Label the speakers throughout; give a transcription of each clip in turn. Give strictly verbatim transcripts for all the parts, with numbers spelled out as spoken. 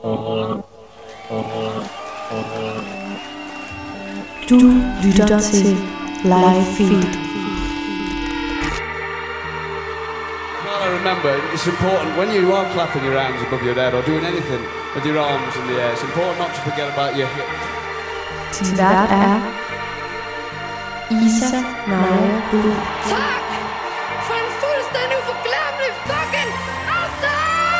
Speaker 1: Du lytter til Live Feed.
Speaker 2: Well, I remember, it's important when you are clapping your hands above your head or doing anything with your arms in the air, it's important not to forget about your hips.
Speaker 1: Til vært er Isa Naja Buhl.
Speaker 3: Tak for en fuldstændig uforglemmelig fucking aften!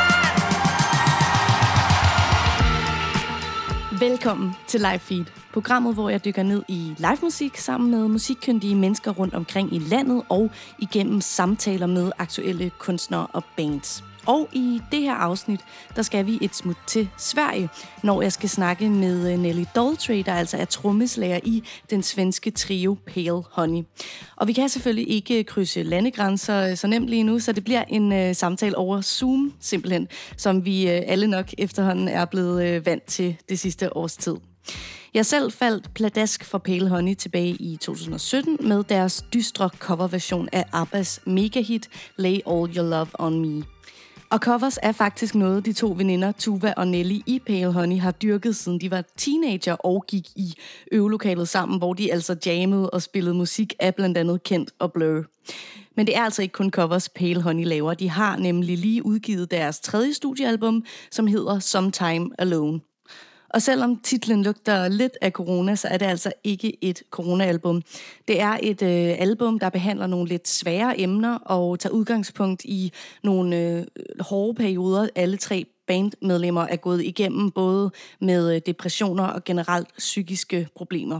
Speaker 4: Velkommen til Live Feed, programmet, hvor jeg dykker ned i live musik sammen med musikkyndige mennesker rundt omkring i landet og igennem samtaler med aktuelle kunstnere og bands. Og i det her afsnit, der skal vi et smut til Sverige, når jeg skal snakke med Nelly Daltrey, der altså er trommeslager i den svenske trio Pale Honey. Og vi kan selvfølgelig ikke krydse landegrænser så nemt lige nu, så det bliver en uh, samtale over Zoom simpelthen, som vi uh, alle nok efterhånden er blevet uh, vant til det sidste års tid. Jeg selv faldt pladask for Pale Honey tilbage i to tusind og sytten med deres dystre coverversion af ABBAs megahit Lay All Your Love On Me. Og covers er faktisk noget, de to veninder, Tuva og Nelly i Pale Honey, har dyrket siden de var teenager og gik i øvelokalet sammen, hvor de altså jammede og spillede musik af blandt andet Kent og Blur. Men det er altså ikke kun covers, Pale Honey laver. De har nemlig lige udgivet deres tredje studiealbum, som hedder Sometime Alone. Og selvom titlen lugter lidt af corona, så er det altså ikke et corona-album. Det er et øh, album, der behandler nogle lidt svære emner og tager udgangspunkt i nogle øh, hårde perioder. Alle tre bandmedlemmer er gået igennem, både med øh, depressioner og generelt psykiske problemer.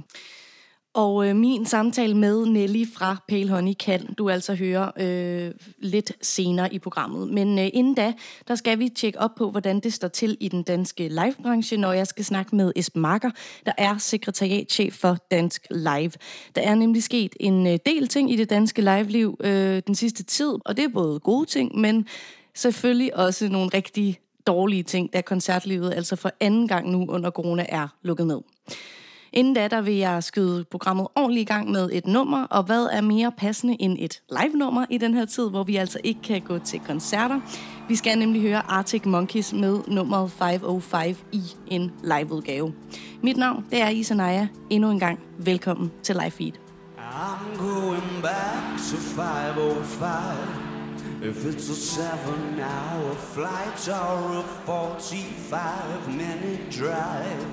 Speaker 4: Og øh, min samtale med Nelly fra Pale Honey kan du altså høre øh, lidt senere i programmet. Men øh, inden da, der skal vi tjekke op på, hvordan det står til i den danske livebranche, når jeg skal snakke med Esben Marker, der er sekretariatschef for Dansk Live. Der er nemlig sket en øh, del ting i det danske liveliv øh, den sidste tid, og det er både gode ting, men selvfølgelig også nogle rigtig dårlige ting, da koncertlivet altså for anden gang nu under corona er lukket ned. Inden da, der vil jeg skyde programmet ordentligt i gang med et nummer, og hvad er mere passende end et live-nummer i den her tid, hvor vi altså ikke kan gå til koncerter. Vi skal nemlig høre Arctic Monkeys med nummeret fem nul fem i en liveudgave. Mit navn, det er Isa Naja. Endnu en gang, velkommen til Live Feed.
Speaker 5: I'm going back to five oh five. If it's a seven hour flight or a forty-five minute drive.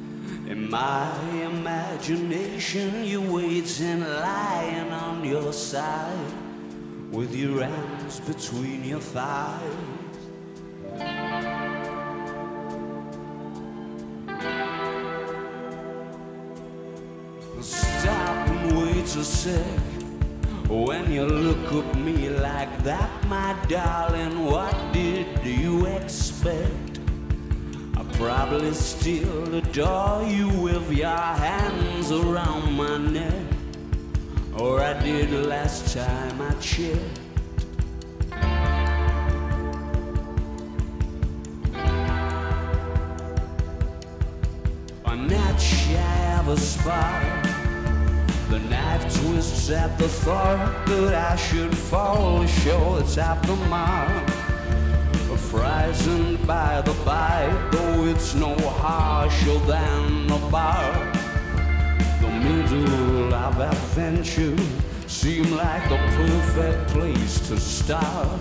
Speaker 5: In my imagination, you're waiting, lying on your side, with your hands between your thighs. Stop and wait a sec. When you look at me like that, my darling, what did you expect? Probably still adore you with your hands around my neck, or I did last time I checked. A night shy of a spark, the knife twists at the thought that I should fall short at the mark. Frightened by the bite, though it's no harsher than the bark. The middle of adventure seemed like the perfect place to start.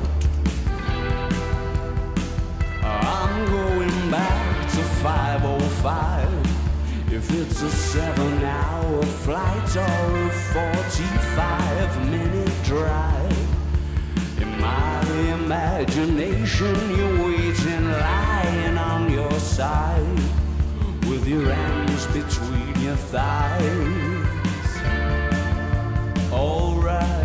Speaker 5: I'm going back to five oh five. If it's a seven hour flight or a forty-five minute drive. In my imagination, you're waiting, lying on your side, with your hands between your thighs. All right.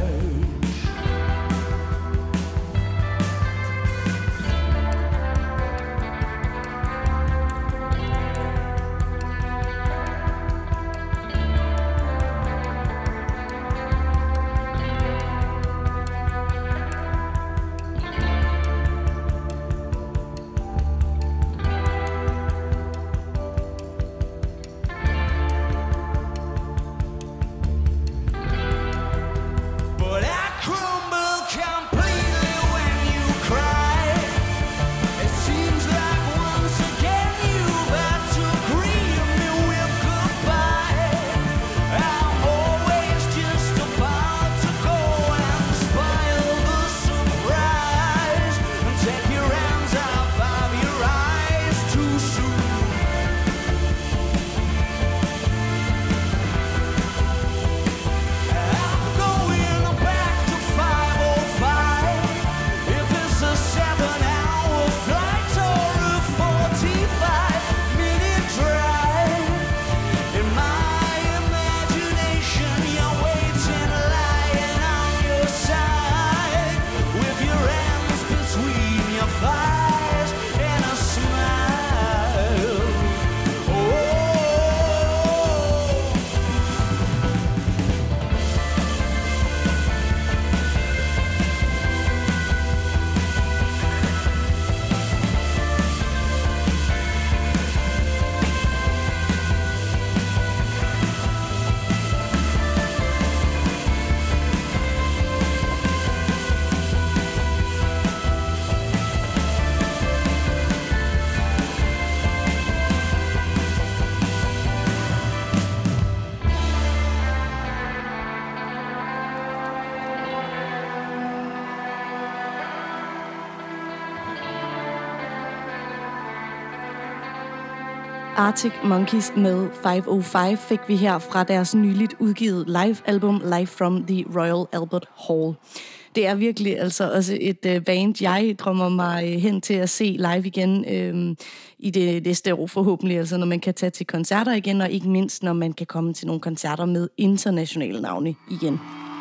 Speaker 4: Arctic Monkeys med fem nul fem fik vi her fra deres nyligt udgivet live-album Live from the Royal Albert Hall. Det er virkelig altså også et øh, band, jeg drømmer mig øh, hen til at se live igen øh, i det næste år forhåbentlig, altså når man kan tage til koncerter igen, og ikke mindst når man kan komme til nogle koncerter med internationale navne igen.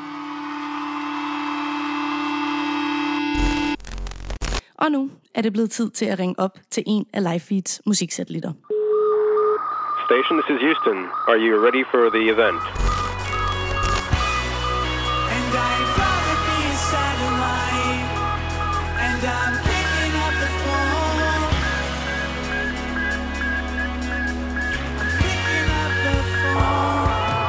Speaker 4: Og nu er det blevet tid til at ringe op til en af Livefeeds musiksatellitter.
Speaker 6: Station, this is Houston. Are you ready for the event?
Speaker 5: And I'd rather be a satellite. And I'm picking up the phone. I'm picking up the phone.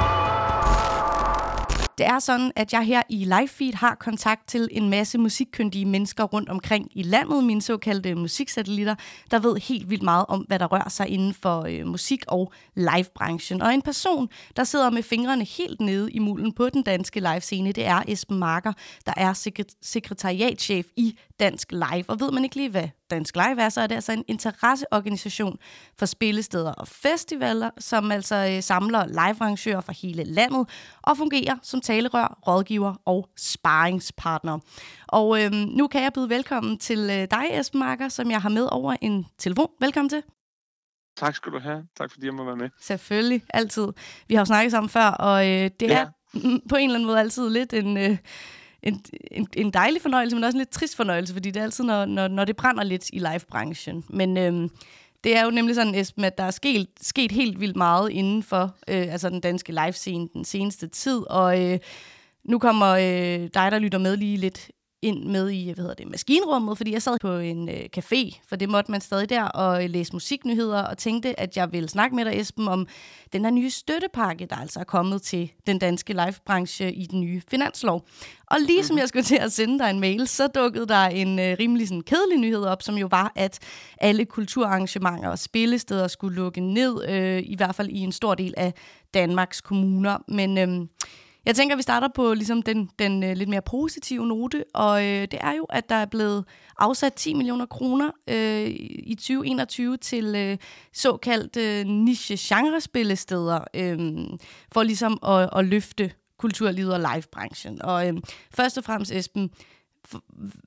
Speaker 4: Det er sådan, at jeg her i Livefeed har kontakt til en masse musikkyndige mennesker rundt omkring i landet, mine såkaldte musiksatellitter, der ved helt vildt meget om, hvad der rører sig inden for øh, musik- og livebranchen. Og en person, der sidder med fingrene helt nede i mulden på den danske livescene, det er Esben Marker, der er sekret- sekretariatschef i Dansk Live. Og ved man ikke lige, hvad Dansk Live er, så er det altså en interesseorganisation for spillesteder og festivaler, som altså øh, samler livearrangører fra hele landet og fungerer som talerør, rådgiver og sparringspartner. Og øh, nu kan jeg byde velkommen til øh, dig, Esben Marker, som jeg har med over en telefon. Velkommen til.
Speaker 7: Tak skal du have. Tak fordi jeg må være med.
Speaker 4: Selvfølgelig, altid. Vi har jo snakket sammen før, og øh, det
Speaker 7: Ja.
Speaker 4: er på en eller anden måde altid lidt en... Øh, En, en, en dejlig fornøjelse, men også en lidt trist fornøjelse, fordi det er altid, når, når, når det brænder lidt i livebranchen. Men øhm, det er jo nemlig sådan, Esben, at der er sket, sket helt vildt meget inden for øh, altså den danske livescene den seneste tid, og øh, nu kommer øh, dig, der lytter med, lige lidt ind med i, hvad hedder det, maskinrummet, fordi jeg sad på en øh, café, for det måtte man stadig der, og øh, læse musiknyheder, og tænkte, at jeg ville snakke med dig, Esben, om den her nye støttepakke, der altså er kommet til den danske livebranche i den nye finanslov. Og lige mm-hmm. som jeg skulle til at sende dig en mail, så dukkede der en øh, rimelig sådan, kedelig nyhed op, som jo var, at alle kulturarrangementer og spillesteder skulle lukke ned, øh, i hvert fald i en stor del af Danmarks kommuner. Men øh, jeg tænker, at vi starter på ligesom den, den øh, lidt mere positive note, og øh, det er jo, at der er blevet afsat ti millioner kroner øh, i tyve enogtyve til øh, såkaldt øh, niche-genre-spillesteder, øh, for ligesom at, at løfte kulturlivet og livebranchen. Og øh, først og fremmest, Esben, for,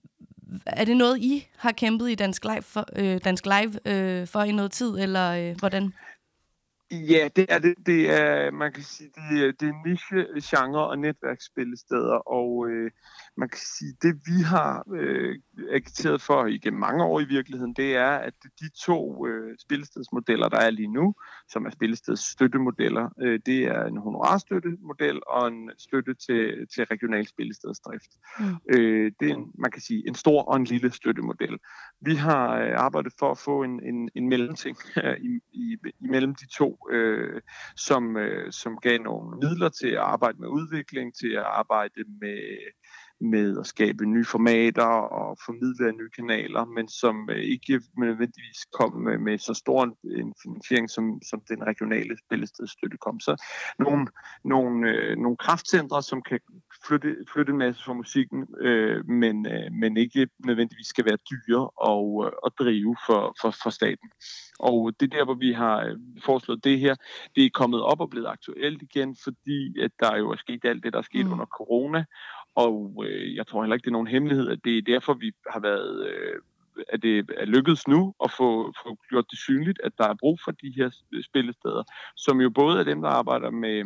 Speaker 4: er det noget, I har kæmpet i Dansk Live for, øh, Dansk Live, øh, for i noget tid, eller øh, hvordan?
Speaker 7: Ja, det er det. Det er, man kan sige, det er, det er niche, genre og netværksspillesteder, og øh, man kan sige, det vi har øh, agiteret for igennem mange år i virkeligheden, det er, at de to øh, spillestedsmodeller, der er lige nu, som er spillestedsstøttemodeller, øh, det er en honorarstøttemodel og en støtte til, til regional spillestedsdrift. Mm. Øh, det er en, man kan sige, en stor og en lille støttemodel. Vi har øh, arbejdet for at få en, en, en mellemting øh, i, i, imellem de to, Øh, som, øh, som gav nogle midler til at arbejde med udvikling, til at arbejde med, med at skabe nye formater og formidle nye kanaler, men som øh, ikke nødvendigvis kom med, med så stor en finansiering, som, som den regionale spillestedsstøtte kom. Så nogle, nogle, øh, nogle kraftcentre, som kan flytte, flytte en masse for musikken, øh, men, øh, men ikke nødvendigvis skal være dyre og, at drive for, for, for staten. Og det er der, hvor vi har foreslået det her. Det er kommet op og blevet aktuelt igen, fordi at der jo er sket alt det, der er sket mm. under corona. Og øh, jeg tror heller ikke, det er nogen hemmelighed, at det er derfor, vi har været... Øh, at det er lykkedes nu at få, få gjort det synligt, at der er brug for de her spillesteder, som jo både er dem, der arbejder med,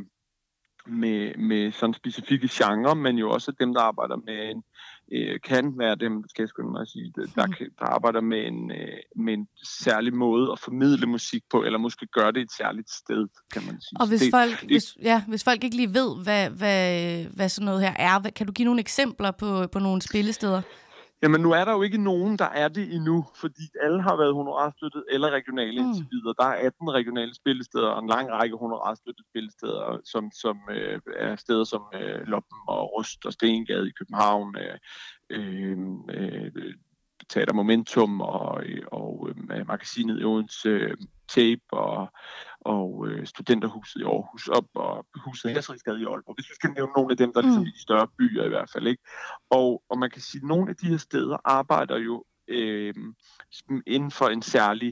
Speaker 7: med, med sådan specifikke genre, men jo også dem, der arbejder med en, øh, kan være dem, skal jeg skynde mig at sige, der, der arbejder med en, øh, med en særlig måde at formidle musik på, eller måske gøre det et særligt sted, kan man sige.
Speaker 4: Og hvis,
Speaker 7: det,
Speaker 4: folk,
Speaker 7: det,
Speaker 4: hvis, ja, hvis folk ikke lige ved, hvad, hvad, hvad sådan noget her er, kan du give nogle eksempler på, på nogle spillesteder?
Speaker 7: Jamen nu er der jo ikke nogen, der er det endnu, fordi alle har været honorarstøttet eller regionale mm. indtil videre. Der er atten regionale spillesteder og en lang række honorarstøttede spillesteder, som, som øh, er steder som øh, Loppen og Rust og Stengade i København, øh, øh, øh, Teater Momentum og, og øh, magasinet i Odense, øh, Tape og, og øh, Studenterhuset i Aarhus op og huset Hersrigsgade i Aalborg. Hvis vi skal nævne nogle af dem, der er ligesom i de større byer i hvert fald, ikke? Og, og man kan sige, at nogle af de her steder arbejder jo øh, inden for en særlig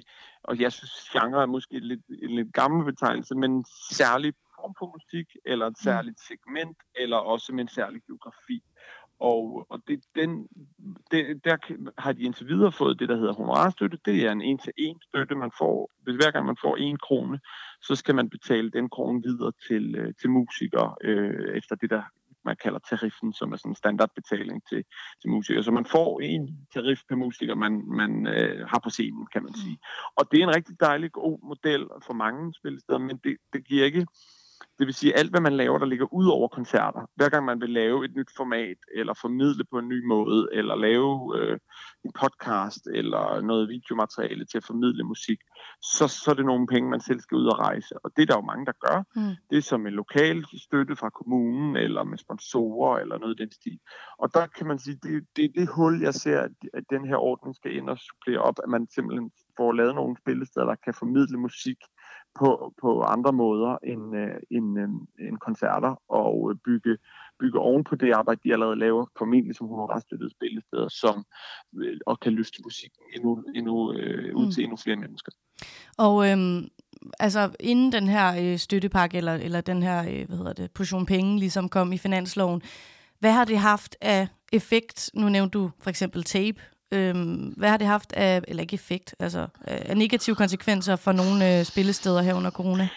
Speaker 7: og jeg synes, genre er måske lidt, en lidt gammel betegnelse, men en særlig form for musik, eller et særligt segment, eller også med en særlig geografi. Og, og det, den, det, der har de indtil videre fået det, der hedder honorarstøtte. Det er en en-til-en støtte, man får. Hvis hver gang man får en krone, så skal man betale den krone videre til, til musikere, øh, efter det, der man kalder tariffen, som er sådan en standardbetaling til, til musikere. Så man får en tarif per musiker, man, man øh, har på scenen, kan man sige. Og det er en rigtig dejlig, god model for mange spillesteder, men det, det giver ikke... Det vil sige, alt hvad man laver, der ligger ud over koncerter. Hver gang man vil lave et nyt format, eller formidle på en ny måde, eller lave øh, en podcast, eller noget videomateriale til at formidle musik, så, så er det nogle penge, man selv skal ud og rejse. Og det er der jo mange, der gør. Mm. Det er som en lokal støtte fra kommunen, eller med sponsorer, eller noget i den stil. Og der kan man sige, det, det er det hul, jeg ser, at den her ordning skal ind og supplere op, at man simpelthen får lavet nogle spillesteder, der kan formidle musik på, på andre måder end, øh, end, øh, end koncerter, og øh, bygge, bygge oven på det arbejde, de allerede laver, formentlig som honorarstøttede spillesteder, som øh, og kan løfte musikken endnu, endnu, øh, ud til mm. endnu flere mennesker.
Speaker 4: Og øhm, altså inden den her øh, støttepakke, eller, eller den her øh, hvad hedder det, portion penge, ligesom kom i finansloven, hvad har det haft af effekt? Nu nævnte du for eksempel tape. Øhm, hvad har det haft af, eller ikke effekt, altså af negative konsekvenser for nogle øh, spillesteder her under corona?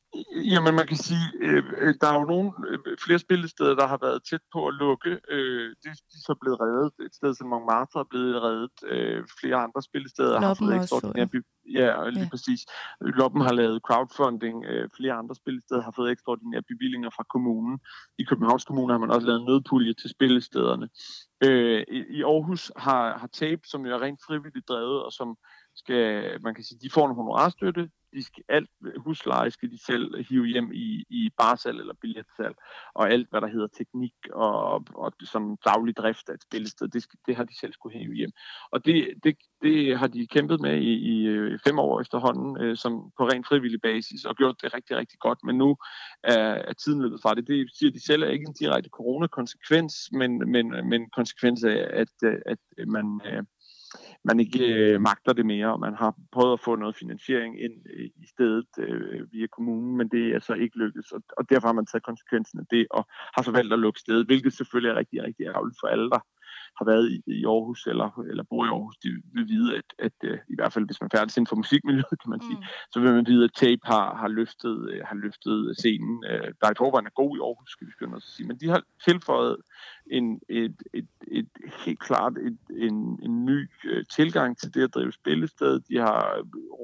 Speaker 7: Jamen man kan sige, øh, der er jo nogle øh, flere spillesteder, der har været tæt på at lukke. Øh, de, de er så blevet reddet. Et sted som Montmartre er blevet reddet. Øh, flere andre spillesteder har fået ekstraordinære Ja, lige ja. præcis. Loppen har lavet crowdfunding. Øh, flere andre spillesteder har fået ekstraordinære bevillinger fra kommunen. I Københavns Kommune har man også lavet nødpulje til spillestederne. Øh, i, I Aarhus har, har Tape, som jo er rent frivilligt drevet, og som skal, man kan sige, de får en honorarstøtte. De skal, alt husleje skal de selv hive hjem i, i barsal eller billetsalg, og alt, hvad der hedder teknik og, og sådan daglig drift af et spillested, det, skal, det har de selv skulle hive hjem. Og det, det, det har de kæmpet med i, i fem år efterhånden, øh, som på rent frivillig basis, og gjort det rigtig, rigtig godt, men nu er, er tiden løbet fra det. Det siger de selv er ikke en direkte coronakonsekvens, men, men, men konsekvens af, at, at man... Øh, man ikke øh, magter det mere, og man har prøvet at få noget finansiering ind øh, i stedet øh, via kommunen, men det er så ikke lykkedes, og, og derfor har man taget konsekvensen af det, og har så valgt at lukke stedet, hvilket selvfølgelig er rigtig, rigtig ærgerligt for alle, der har været i, i Aarhus, eller, eller bor i Aarhus, de vil vide, at, at øh, i hvert fald, hvis man færdes inden for musikmiljøet, kan man sige, mm. så vil man vide, at Tape har, har, løftet, øh, har løftet scenen, øh, der i forvejen er god i Aarhus, skal vi skynde os at sige, men de har tilføjet en, et, et, et, helt klart et, en, en ny øh, tilgang til det at drive spillested. De har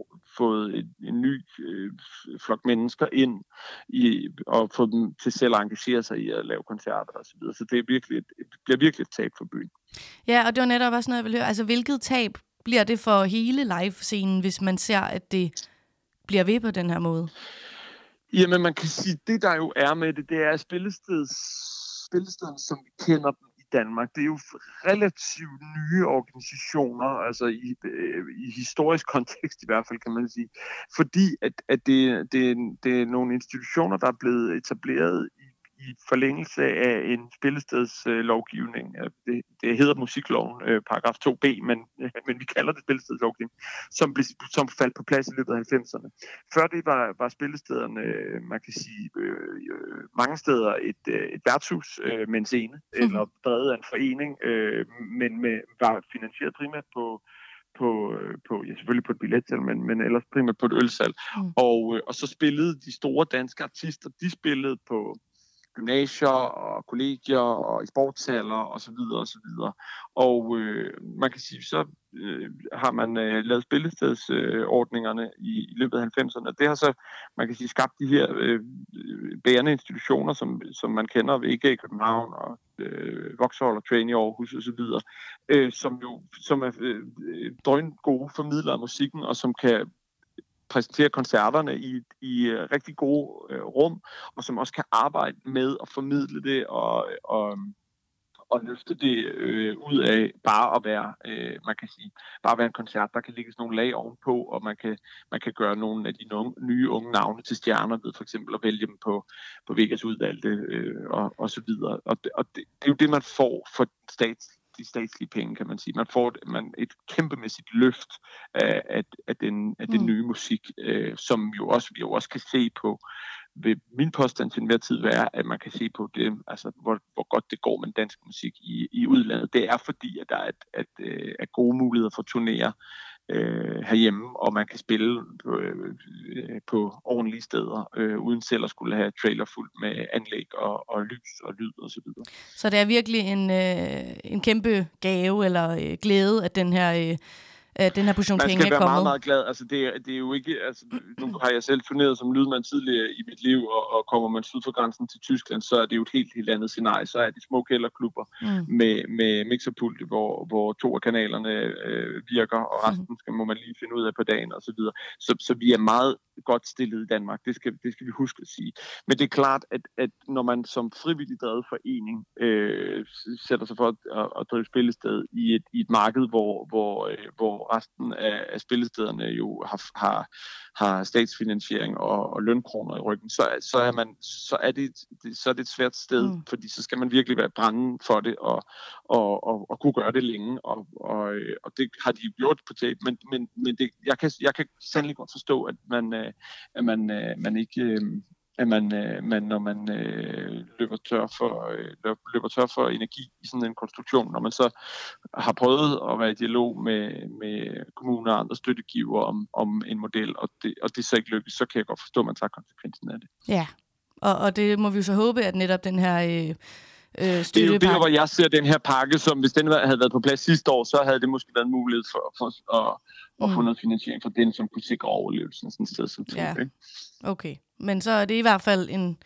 Speaker 7: fået et, en ny øh, flok mennesker ind i, og fået dem til selv at engagere sig i at lave koncerter og så videre. Så det er virkelig et, det bliver virkelig et tab for byen.
Speaker 4: Ja, og det var netop også noget, jeg ville høre. Altså, hvilket tab bliver det for hele live-scenen, hvis man ser, at det bliver ved på den her måde?
Speaker 7: Jamen, man kan sige, det der jo er med det, det er spillesteds, spillestederne, som vi kender dem i Danmark. Det er jo relativt nye organisationer, altså i, i historisk kontekst i hvert fald, kan man sige. Fordi at, at det, det, det er nogle institutioner, der er blevet etableret i i forlængelse af en spillestedslovgivning. Øh, det, det hedder musikloven, øh, paragraf to b, men, øh, men vi kalder det spillestedslovgivning, som, blev, som faldt på plads i løbet af halvfemserne. Før det var, var spillestederne, øh, man kan sige, øh, mange steder et, øh, et værtshus øh, med en scene, mm. eller drevet af en forening, øh, men med, var finansieret primært på På, på, ja, selvfølgelig på et billetsalg, men, men ellers primært på et ølsalg. Mm. Og, og så spillede de store danske artister, de spillede på gymnasier og kollegier og i sportshaller og så videre og så videre. Og øh, man kan sige, så øh, har man øh, lavet spillestedsordningerne øh, i, i løbet af halvfemserne. Det har så, man kan sige, skabt de her øh, bærende institutioner, som, som man kender ved I G i København og øh, Vauxhall og Train i Aarhus og så videre, øh, som jo som er øh, drøn gode formidlere af musikken, og som kan præsentere koncerterne i, i uh, rigtig gode uh, rum, og som også kan arbejde med at formidle det og, og, og løfte det uh, ud af bare at være, uh, man kan sige, bare at være en koncert, der kan lægges nogle lag ovenpå, og man kan, man kan gøre nogle af de nogle, nye unge navne til stjerner ved for eksempel at vælge dem på, på Vegas udvalgte uh, og, og så videre. Og, det, og det, det er jo det, man får for stats de statslige penge, kan man sige. Man får man et kæmpemæssigt løft af, af, af, den, af den mm. nye musik, øh, som jo også, vi jo også kan se på. Vil min påstand til enhver tid være, at man kan se på det, altså hvor, hvor godt det går med dansk musik i, i udlandet. Det er fordi, at der er, at, at, at gode muligheder for turnéer øh, herhjemme, og man kan spille på, øh, på ordentlige steder, øh, uden selv at skulle have trailer fuldt med anlæg og, og lys og lyd og så videre.
Speaker 4: Så det er virkelig en, øh, en kæmpe gave eller øh, glæde, at den her... Øh den her portion penge er kommet.
Speaker 7: Man skal være meget, meget glad. Altså, det, er, det er jo ikke... Altså, nu har jeg selv turneret som lydmand tidligere i mit liv, og, og kommer man syd for grænsen til Tyskland, så er det jo et helt, helt andet scenarie. Så er de små kælderklubber mm. med, med mixerpult, hvor, hvor to af kanalerne øh, virker, og resten skal, må man lige finde ud af på dagen, og så videre. Så, så vi er meget godt stillet i Danmark. Det skal, det skal vi huske at sige. Men det er klart, at, at når man som frivillig drevet forening øh, sætter sig for at, at, at drive spillested i et, i et marked, hvor, hvor, øh, hvor resten af, af spillestederne jo har, har, har statsfinansiering og, og lønkroner i ryggen, så, så, er man, så, er det, det, så er det et svært sted, mm. fordi så skal man virkelig være brænde for det og, og, og, og kunne gøre det længe, og, og, og det har de gjort på tape, men, men, men det, jeg, kan, jeg kan sandelig godt forstå, at man, at man, man ikke... at man, man når man øh, løber, tør for, øh, løber tør for energi i sådan en konstruktion, når man så har prøvet at være i dialog med, med kommuner og andre støttegiver om, om en model, og det, og det så ikke lykkes, så kan jeg godt forstå, at man tager konsekvensen af det.
Speaker 4: Ja, og, og det må vi jo så håbe, at netop den her... Øh Øh,
Speaker 7: det er jo der, hvor jeg ser den her pakke, som hvis den havde været på plads sidste år, så havde det måske været en mulighed for, for at, at mm. få noget finansiering for den, som kunne sikre overlevelsen sådan et sted som det.
Speaker 4: Ja. Okay, men så er det i hvert fald en,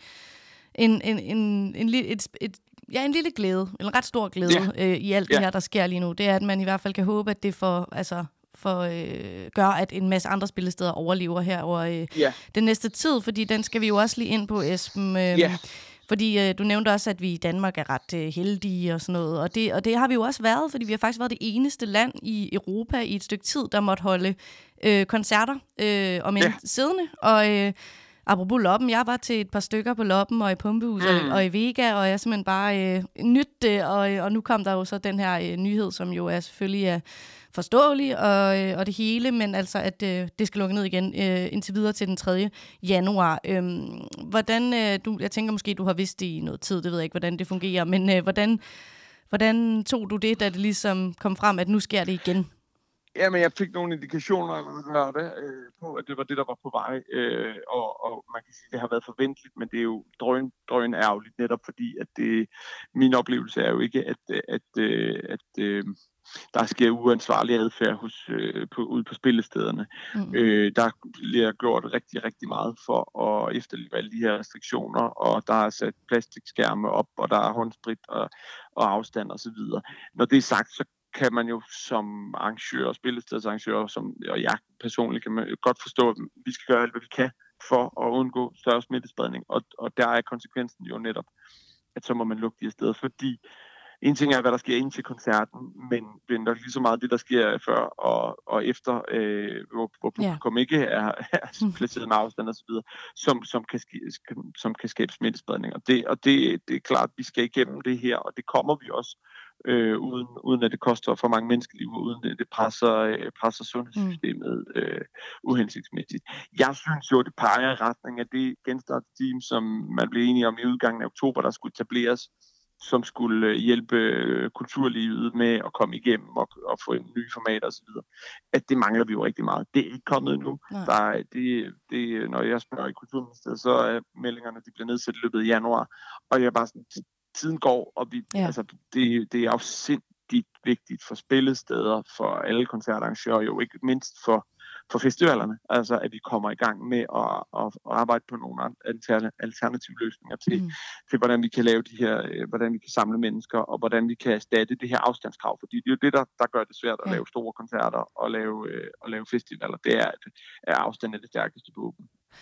Speaker 4: en, en, en, en, et, et, ja, en lille glæde, en ret stor glæde ja. øh, i alt det ja. her, der sker lige nu. Det er, at man i hvert fald kan håbe, at det får... Altså for øh, gør, at en masse andre spillesteder overlever her over øh, ja. den næste tid, fordi den skal vi jo også lige ind på, Esben. Øh, ja. Fordi øh, du nævnte også, at vi i Danmark er ret øh, heldige og sådan noget, og det, og det har vi jo også været, fordi vi har faktisk været det eneste land i Europa i et stykke tid, der måtte holde øh, koncerter øh, om en ja. siddende, og øh, apropos Loppen, jeg var til et par stykker på Loppen og i Pumpehus mm. og, og i Vega, og jeg simpelthen bare øh, nytte det, og, og nu kom der jo så den her øh, nyhed, som jo er selvfølgelig er forståelig og, øh, og det hele, men altså, at øh, det skal lukke ned igen øh, indtil videre til den tredje januar. Øhm, hvordan, øh, du, jeg tænker måske, du har vidst det i noget tid, det ved jeg ikke, hvordan det fungerer, men øh, hvordan, hvordan tog du det, da det ligesom kom frem, at nu sker det igen?
Speaker 7: Ja, men jeg fik nogle indikationer lørdag øh, på, at det var det, der var på vej, øh, og, og man kan sige, at det har været forventeligt, men det er jo drøn, drøn ærgerligt, netop fordi, at det, min oplevelse er jo ikke, at, at, at, at, at der sker uansvarlig adfærd hos, øh, på, ude på spillestederne. Mm. Øh, der bliver gjort rigtig, rigtig meget for at efterleve alle de her restriktioner, og der er sat plastikskærme op, og der er håndsprit og, og afstand og så videre. Når det er sagt, så kan man jo som arrangør, spillestedsarrangør, som, og jeg personligt kan man godt forstå, at vi skal gøre alt, hvad vi kan for at undgå større smittespredning, og, og der er konsekvensen jo netop, at så må man lukke de her steder, fordi en ting er, hvad der sker ind til koncerten, men det er nok lige så meget det, der sker før og, og efter, øh, hvor, hvor publikum yeah. ikke er, er placeret med afstand og så videre, som, som, kan, som kan skabe smittespredning. Og, det, og det, det er klart, at vi skal igennem det her, og det kommer vi også, øh, uden, uden at det koster for mange menneskeliv, og uden at det presser, øh, presser sundhedssystemet øh, uhensigtsmæssigt. Jeg synes jo, det peger i retning af det genstartsteam, som man blev enige om i udgangen af oktober, der skulle etableres, som skulle hjælpe kulturlivet med at komme igennem og, og få nye formater osv., at det mangler vi jo rigtig meget. Det er ikke kommet endnu. Der er, det, det, når jeg spørger i Kulturministeriet, så er meldingerne, de bliver nedsat i løbet af januar, og jeg er bare sådan, tiden går, og vi, ja. altså, det, det er jo sindssygt vigtigt for spillesteder, for alle koncertarrangører, jo ikke mindst for for festivalerne, altså at vi kommer i gang med at, at, at arbejde på nogle alternative løsninger til, mm. til, hvordan vi kan lave de her, hvordan vi kan samle mennesker, og hvordan vi kan erstatte det her afstandskrav, fordi det er jo det, der, der gør det svært at ja. lave store koncerter og lave, og lave festivaler. Det er, at afstand er det stærkeste våben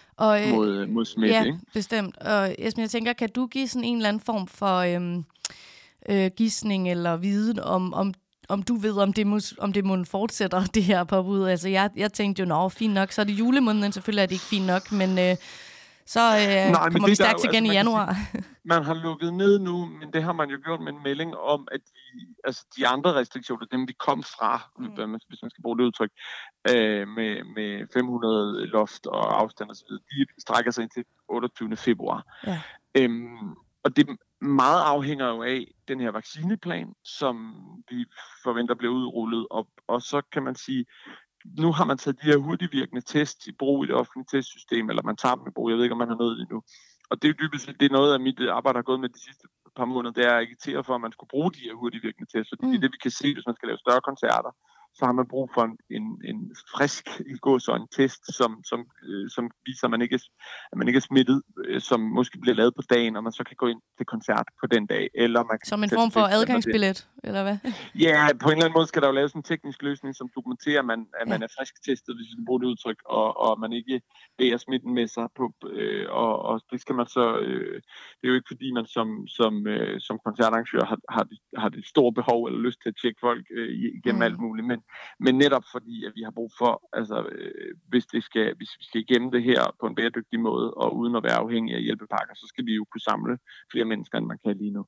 Speaker 7: mod, mod smitte.
Speaker 4: Ja,
Speaker 7: ikke?
Speaker 4: Bestemt. Og Esben, jeg tænker, kan du give sådan en eller anden form for øhm, øh, gisning eller viden om, om om du ved, om det, mus, om det må fortsætter, det her påbud. Altså, jeg, jeg tænkte jo, nå, fint nok, så er det julemåneden, selvfølgelig er det ikke fint nok, men øh, så øh,
Speaker 7: Nej,
Speaker 4: kommer vi stærkt
Speaker 7: jo,
Speaker 4: igen
Speaker 7: altså,
Speaker 4: i januar.
Speaker 7: Sige, man har lukket ned nu, men det har man jo gjort med en melding om, at de, altså, de andre restriktioner, dem vi kom fra, mm. hvis man skal bruge det udtryk, øh, med, med fem hundrede loft og afstand osv., de strækker sig ind til otteogtyvende februar. Ja. Øhm, og det meget afhænger jo af den her vaccineplan, som vi forventer bliver udrullet, og, og så kan man sige, nu har man taget de her hurtigvirkende tests i brug i det offentlige testsystem, eller man tager dem i brug, jeg ved ikke, om man har nået det endnu. Og det er jo dybest set, det er noget af mit arbejde, har gået med de sidste par måneder, det er at agitere for, at man skulle bruge de her hurtigvirkende tests, fordi mm. det er det, vi kan se, hvis man skal lave større koncerter, så har man brug for en, en, en frisk i går så en test, som, som, øh, som viser, at man, ikke er, at man ikke er smittet, øh, som måske bliver lavet på dagen, og man så kan gå ind til koncert på den dag. Eller man kan
Speaker 4: som en form for adgangsbillet, eller hvad?
Speaker 7: Ja, på en eller anden måde skal der jo laves en teknisk løsning, som dokumenterer, at man, at man ja. er frisk testet, hvis vi bruger det udtryk, og, og man ikke bærer smitten med sig på. Øh, og, og det skal man så... Øh, det er jo ikke fordi, man som, som, øh, som koncertarrangør har, har, det, har det store behov eller lyst til at tjekke folk øh, igennem mm. alt muligt, men Men netop fordi, at vi har brug for, altså øh, hvis, det skal, hvis vi skal igennem det her på en bæredygtig måde, og uden at være afhængige af hjælpepakker, så skal vi jo kunne samle flere mennesker, end man kan lige nu.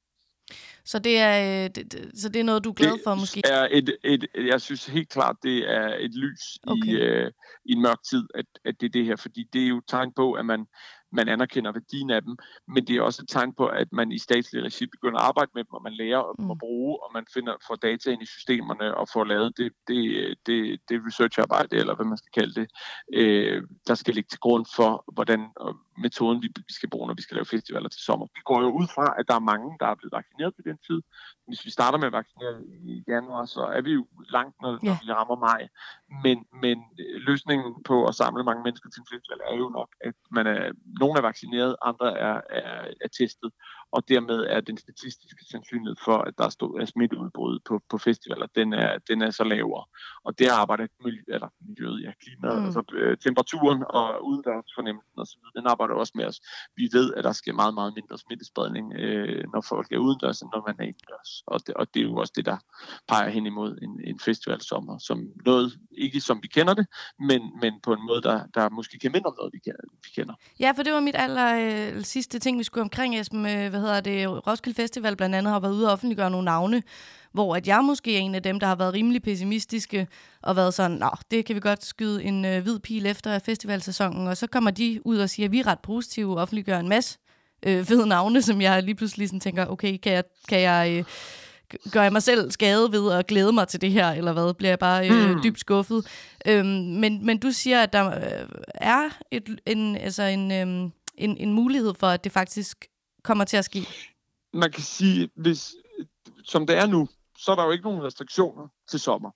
Speaker 4: Så det er, det, så det er noget, du er glad for,
Speaker 7: det
Speaker 4: måske?
Speaker 7: Er et, et, jeg synes helt klart, det er et lys okay. i, øh, i en mørk tid, at, at det er det her, fordi det er jo et tegn på, at man man anerkender værdien af dem, men det er også et tegn på, at man i statslig regi begynder at arbejde med dem, og man lærer dem mm. at bruge, og man finder, får data ind i systemerne, og får lavet det, det, det, det researcharbejde, eller hvad man skal kalde det, øh, der skal ligge til grund for, hvordan metoden vi, vi skal bruge, når vi skal lave festivaler til sommer. Vi går jo ud fra, at der er mange, der er blevet vaccineret på den tid. Hvis vi starter med at vaccinere i januar, så er vi jo langt, når, yeah. når vi rammer maj. Men, men løsningen på at samle mange mennesker til en festival er jo nok, at man er nogle er vaccineret, andre er, er, er testet, og dermed er den statistiske sandsynlighed for, at der er, stå, er smitteudbrud på, på festivaler, den er, den er så lavere. Og det arbejder miljø, eller miljøet, ja, klimaet, mm. altså øh, temperaturen og udendørsfornemmelsen osv., den arbejder også med os. Vi ved, at der sker meget, meget mindre smittespredning, øh, når folk er udendørs, end når man er indendørs. Og det, og det er jo også det, der peger hen imod en, en festivalsommer, som noget, ikke som vi kender det, men, men på en måde, der, der måske kan minde om noget, vi, kan, vi kender.
Speaker 4: Ja, for det var mit aller øh, sidste ting, vi skulle omkring, Esben. Øh, hvad hedder det? Roskilde Festival blandt andet har været ude og offentliggøre nogle navne, hvor at jeg måske er en af dem, der har været rimelig pessimistiske og været sådan, nå, det kan vi godt skyde en øh, hvid pil efter festivalsæsonen, og så kommer de ud og siger, at vi er ret positive og offentliggør en masse øh, fede navne, som jeg lige pludselig sådan tænker, okay, kan jeg, kan jeg øh, gør jeg mig selv skade ved at glæde mig til det her, eller hvad? Bliver jeg bare øh, mm. dybt skuffet? Øhm, men, men du siger, at der øh, er et, en, altså en, øh, en, en mulighed for, at det faktisk kommer til at ske.
Speaker 7: Man kan sige, hvis, som det er nu, så er der jo ikke nogen restriktioner til sommer.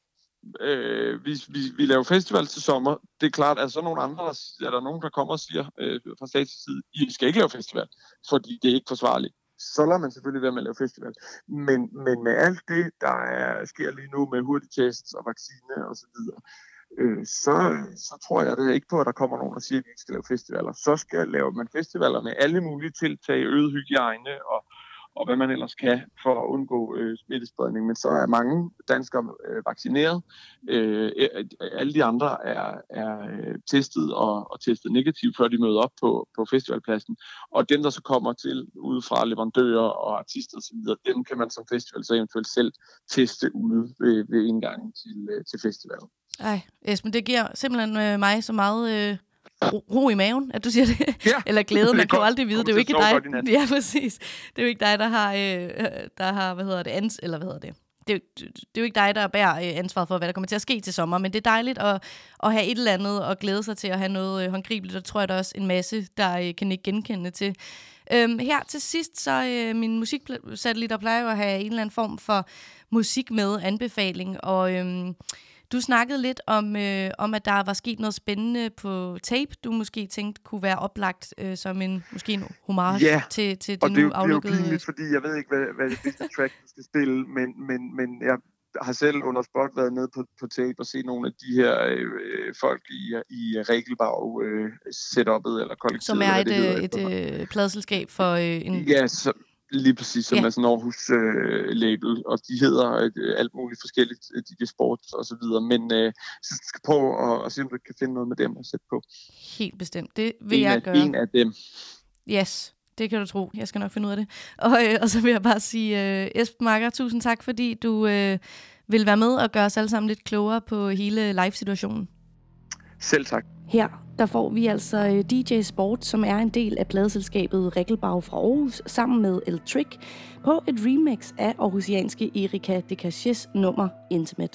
Speaker 7: Øh, vi, vi, vi laver festival til sommer. Det er klart, at så nogle andre, er der nogen, der kommer og siger øh, fra statslig side, I skal ikke lave festival, fordi det er ikke forsvarligt. Så lader man selvfølgelig være med at lave festival. Men, men med alt det, der er, sker lige nu med hurtigtests og vaccine og så videre, øh, så, så tror jeg det ikke på, at der kommer nogen, der siger, at vi ikke skal lave festivaler. Så skal lave man festivaler med alle mulige tiltag, øget hygiejne og og hvad man ellers kan for at undgå øh, smittespredning. Men så er mange danskere øh, vaccineret. Øh, alle de andre er, er testet og, og testet negativt, før de møder op på, på festivalpladsen. Og dem, der så kommer til udefra leverandører og artister osv., dem kan man som festival så eventuelt selv teste ude ved, ved indgangen til, øh, til festivalen. Ej,
Speaker 4: Esben, det giver simpelthen øh, mig så meget... Øh ro, ro i maven, at du siger det. Ja. Eller glæde, man kan jo aldrig vide. Det er jo ikke dig. Ja, præcis. Det er jo ikke dig, der har, øh, der har hvad hedder det, ans, eller hvad hedder det? Det er, jo, det er jo ikke dig, der bærer ansvaret for, hvad der kommer til at ske til sommer, men det er dejligt at, at have et eller andet og glæde sig til at have noget håndgribeligt, og tror jeg, der er også en masse, der kan ikke genkende til. Øhm, her til sidst, så øh, min musiksatellitter plejer jo at have en eller anden form for musik med anbefaling, og øhm, du snakkede lidt om, øh, om, at der var sket noget spændende på tape, du måske tænkte kunne være oplagt øh, som en, måske en homage
Speaker 7: ja,
Speaker 4: til, til det nu aflukkede...
Speaker 7: Ja, og det er jo pinligt, fordi jeg ved ikke, hvad, hvad det bedste track du skal spille, men, men, men jeg har selv under spot været nede på, på tape og set nogle af de her øh, folk i, i Regelbag øh, setup'et eller kollektivet.
Speaker 4: Som er et, hedder, et, et, et pladselskab for øh, en...
Speaker 7: Ja, så, Lige præcis, som
Speaker 4: Ja.
Speaker 7: er sådan en Aarhus-label, øh, og de hedder øh, alt muligt forskelligt, øh, D J Sports og så videre, men øh, så skal prøve at, at se, om du kan finde noget med dem at sætte på.
Speaker 4: Helt bestemt. Det vil
Speaker 7: En
Speaker 4: jeg
Speaker 7: af,
Speaker 4: gøre.
Speaker 7: en af dem.
Speaker 4: Yes, det kan du tro. Jeg skal nok finde ud af det. Og, øh, og så vil jeg bare sige, øh, Esben Marker, tusind tak, fordi du øh, vil være med og gøre os alle sammen lidt klogere på hele live-situationen.
Speaker 7: Selv tak.
Speaker 4: Her der får vi altså øh, D J Sport, som er en del af pladeselskabet Regelbag fra Aarhus, sammen med El Trick, på et remix af aarhusianske Erika Decaches nummer Intimate.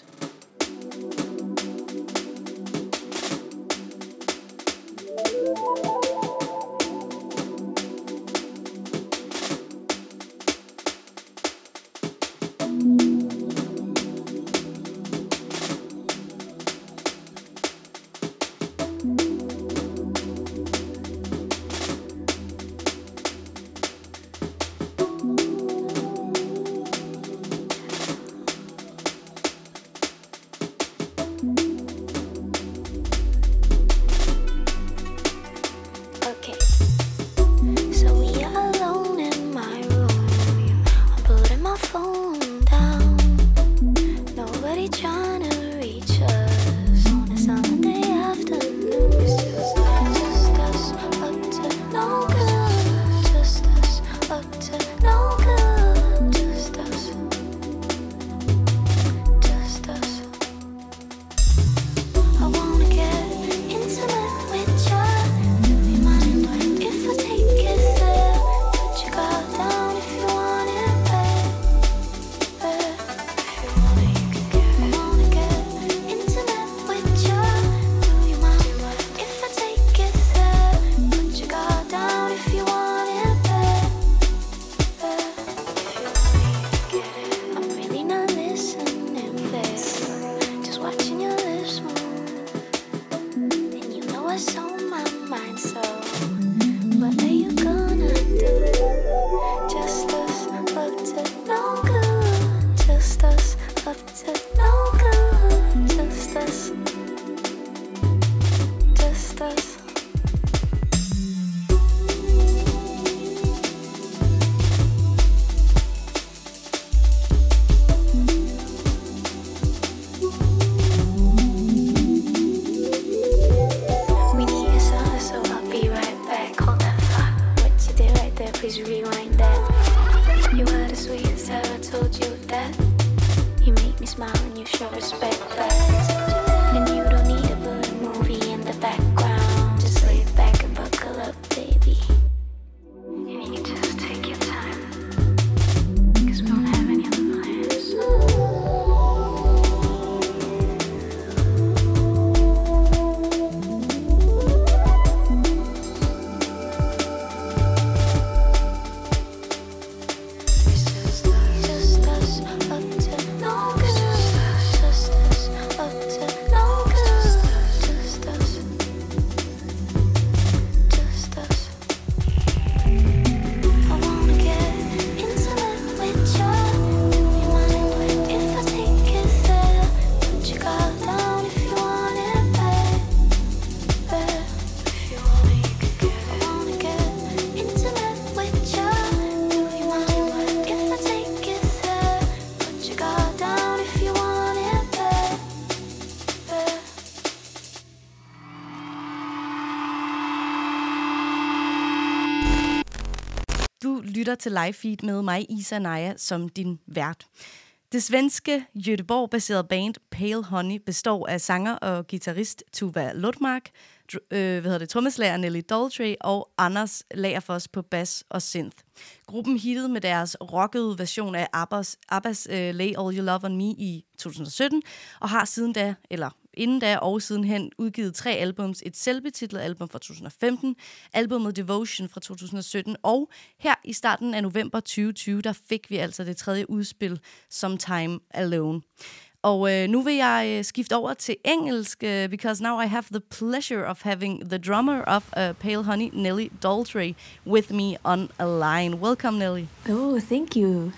Speaker 4: Lytter til live feed med mig, Isa Naja, som din vært. Det svenske Göteborg-baserede band Pale Honey består af sanger og guitarist Tuva Lutmark, dr- øh, hvad hedder det, trommeslager Nelly Daltrey og Anders Lagerfors på bass og synth. Gruppen hittede med deres rockede version af Abbas, Abbas uh, Lay All Your Love On Me i to tusind og sytten, og har siden da, eller inden da og sidenhen udgivet tre albums, et selvbetitlet album fra to tusind og femten, albumet Devotion fra to tusind og sytten, og her i starten af november tyve tyve, der fik vi altså det tredje udspil, Sometime Alone. Og øh, nu vil jeg øh, skifte over til engelsk, øh, because now I have the pleasure of having the drummer of uh, Pale Honey, Nelly Daltrey, with me on a line. Welcome, Nelly.
Speaker 1: Oh, thank you.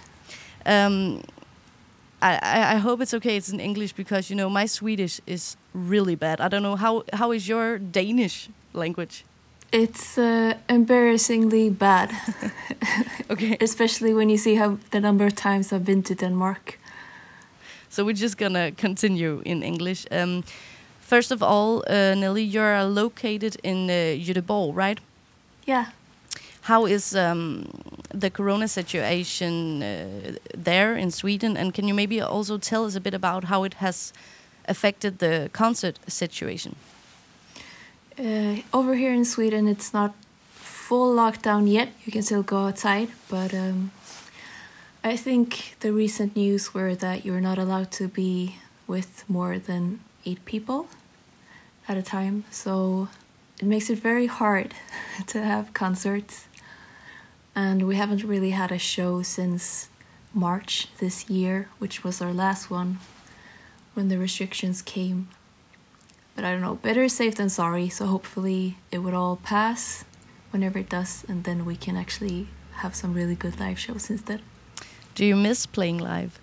Speaker 4: Um, I, I, I hope it's okay it's in English, because, you know, my Swedish is really bad. I don't know, how how is your Danish language?
Speaker 8: It's uh, embarrassingly bad.
Speaker 4: Okay.
Speaker 8: Especially when you see how the number of times I've been to Denmark.
Speaker 4: So we're just gonna continue in English. Um, first of all, uh, Nelly, you're located in uh, Göteborg, right?
Speaker 8: Yeah.
Speaker 4: How is um, the corona situation uh, there in Sweden? And can you maybe also tell us a bit about how it has affected the concert situation?
Speaker 8: Uh, over here in Sweden, it's not full lockdown yet. You can still go outside, but um, I think the recent news were that you're not allowed to be with more than eight people at a time. So it makes it very hard to have concerts. And we haven't really had a show since March this year, which was our last one when the restrictions came. But I don't know, better safe than sorry, so hopefully it would all pass whenever it does, and then we can actually have some really good live shows instead.
Speaker 4: Do you miss playing live?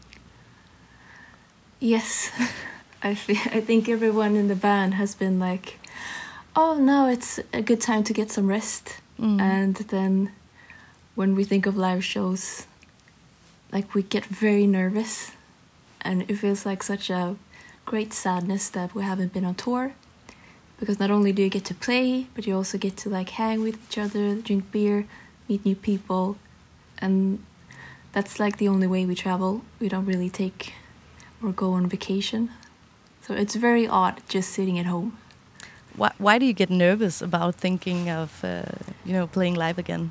Speaker 8: Yes. I feel, I think everyone in the band has been like, oh, now it's a good time to get some rest.
Speaker 4: Mm.
Speaker 8: And then when we think of live shows, like we get very nervous, and it feels like such a great sadness that we haven't been on tour, because not only do you get to play, but you also get to like hang with each other, drink beer, meet new people, and that's like the only way we travel. We don't really take or go on vacation, so it's very odd just sitting at home.
Speaker 4: Why, why do you get nervous about thinking of uh, you know playing live again?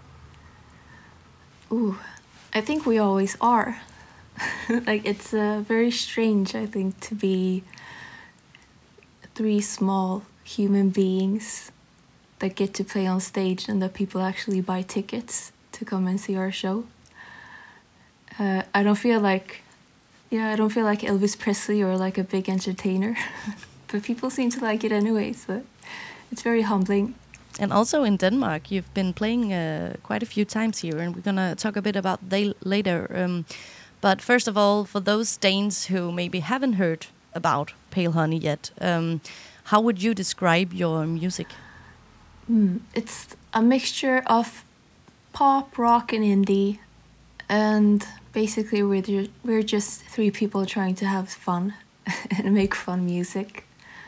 Speaker 8: Ooh, I think we always are. Like, it's uh, very strange, I think, to be three small human beings that get to play on stage and that people actually buy tickets to come and see our show. Uh, I don't feel like, yeah, I don't feel like Elvis Presley or like a big entertainer, but people seem to like it anyway, so it's very humbling.
Speaker 4: And also in Denmark, you've been playing uh, quite a few times here, and we're gonna talk a bit about that later. Um, But first of all, for those Danes who maybe haven't heard about Pale Honey yet, um, how would you describe your music?
Speaker 8: Mm, it's a mixture of pop, rock, and indie, and basically we're ju- we're just three people trying to have fun and make fun music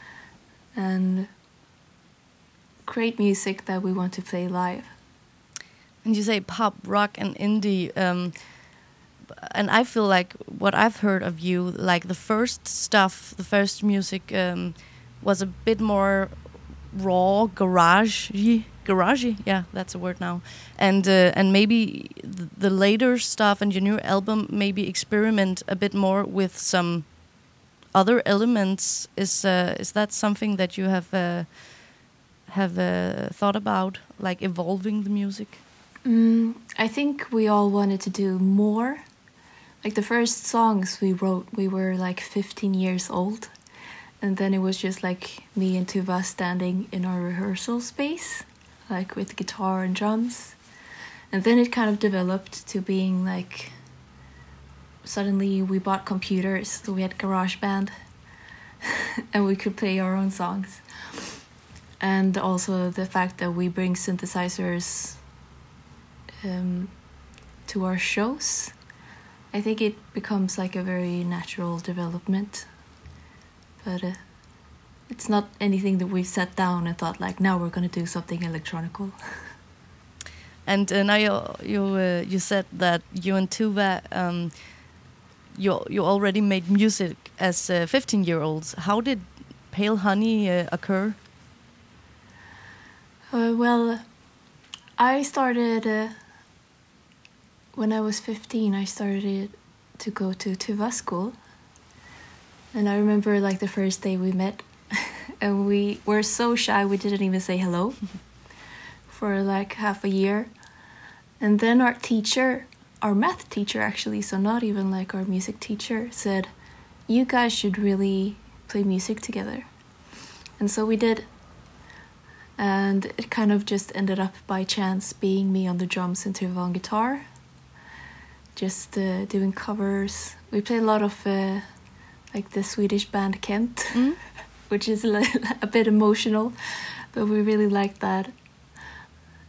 Speaker 8: and create music that we want to play live.
Speaker 4: And you say pop, rock, and indie. Um, And I feel like what I've heard of you, like the first stuff, the first music um, was a bit more raw, garage-y, garage-y, yeah, that's a word now. And uh, and maybe the later stuff and your new album maybe experiment a bit more with some other elements. Is uh, is that something that you have uh, have uh, thought about, like evolving the music?
Speaker 8: Mm, I think we all wanted to do more. Like the first songs we wrote, we were like fifteen years old. And then it was just like me and Tuva standing in our rehearsal space, like with guitar and drums. And then it kind of developed to being like, suddenly we bought computers, so we had GarageBand, and we could play our own songs. And also the fact that we bring synthesizers um, to our shows. I think it becomes like a very natural development, but uh, it's not anything that we've sat down and thought like, now we're going to do something electronical.
Speaker 4: And uh, now you you uh, you said that you and Tuva um, you you already made music as uh, fifteen year olds. How did Pale Honey uh, occur?
Speaker 8: Uh, well, I started. Uh, When I was fifteen, I started to go to Tuva school. And I remember like the first day we met, and we were so shy we didn't even say hello for like half a year. And then our teacher, our math teacher actually, so not even like our music teacher, said, you guys should really play music together. And so we did. And it kind of just ended up by chance being me on the drums and Tuva on guitar. Just uh, doing covers. We play a lot of uh, like the Swedish band Kent, mm. which is a, a bit emotional, but we really like that.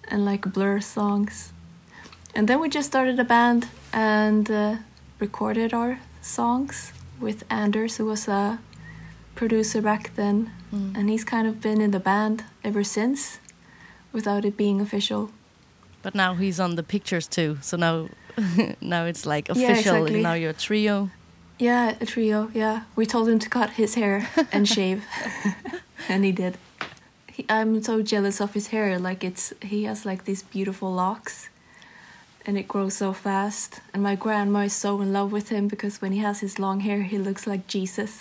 Speaker 8: and like Blur songs. And then we just started a band and uh, recorded our songs with Anders, who was a producer back then. Mm. And he's kind of been in the band ever since, without it being official.
Speaker 4: But now he's on the pictures too, so now now it's like official.
Speaker 8: Yeah, exactly.
Speaker 4: Now you're a trio.
Speaker 8: Yeah, a trio, yeah. We told him to cut his hair and shave, and he did. He, I'm so jealous of his hair. Like, it's he has like these beautiful locks, and it grows so fast. And my grandma is so in love with him because when he has his long hair, he looks like Jesus.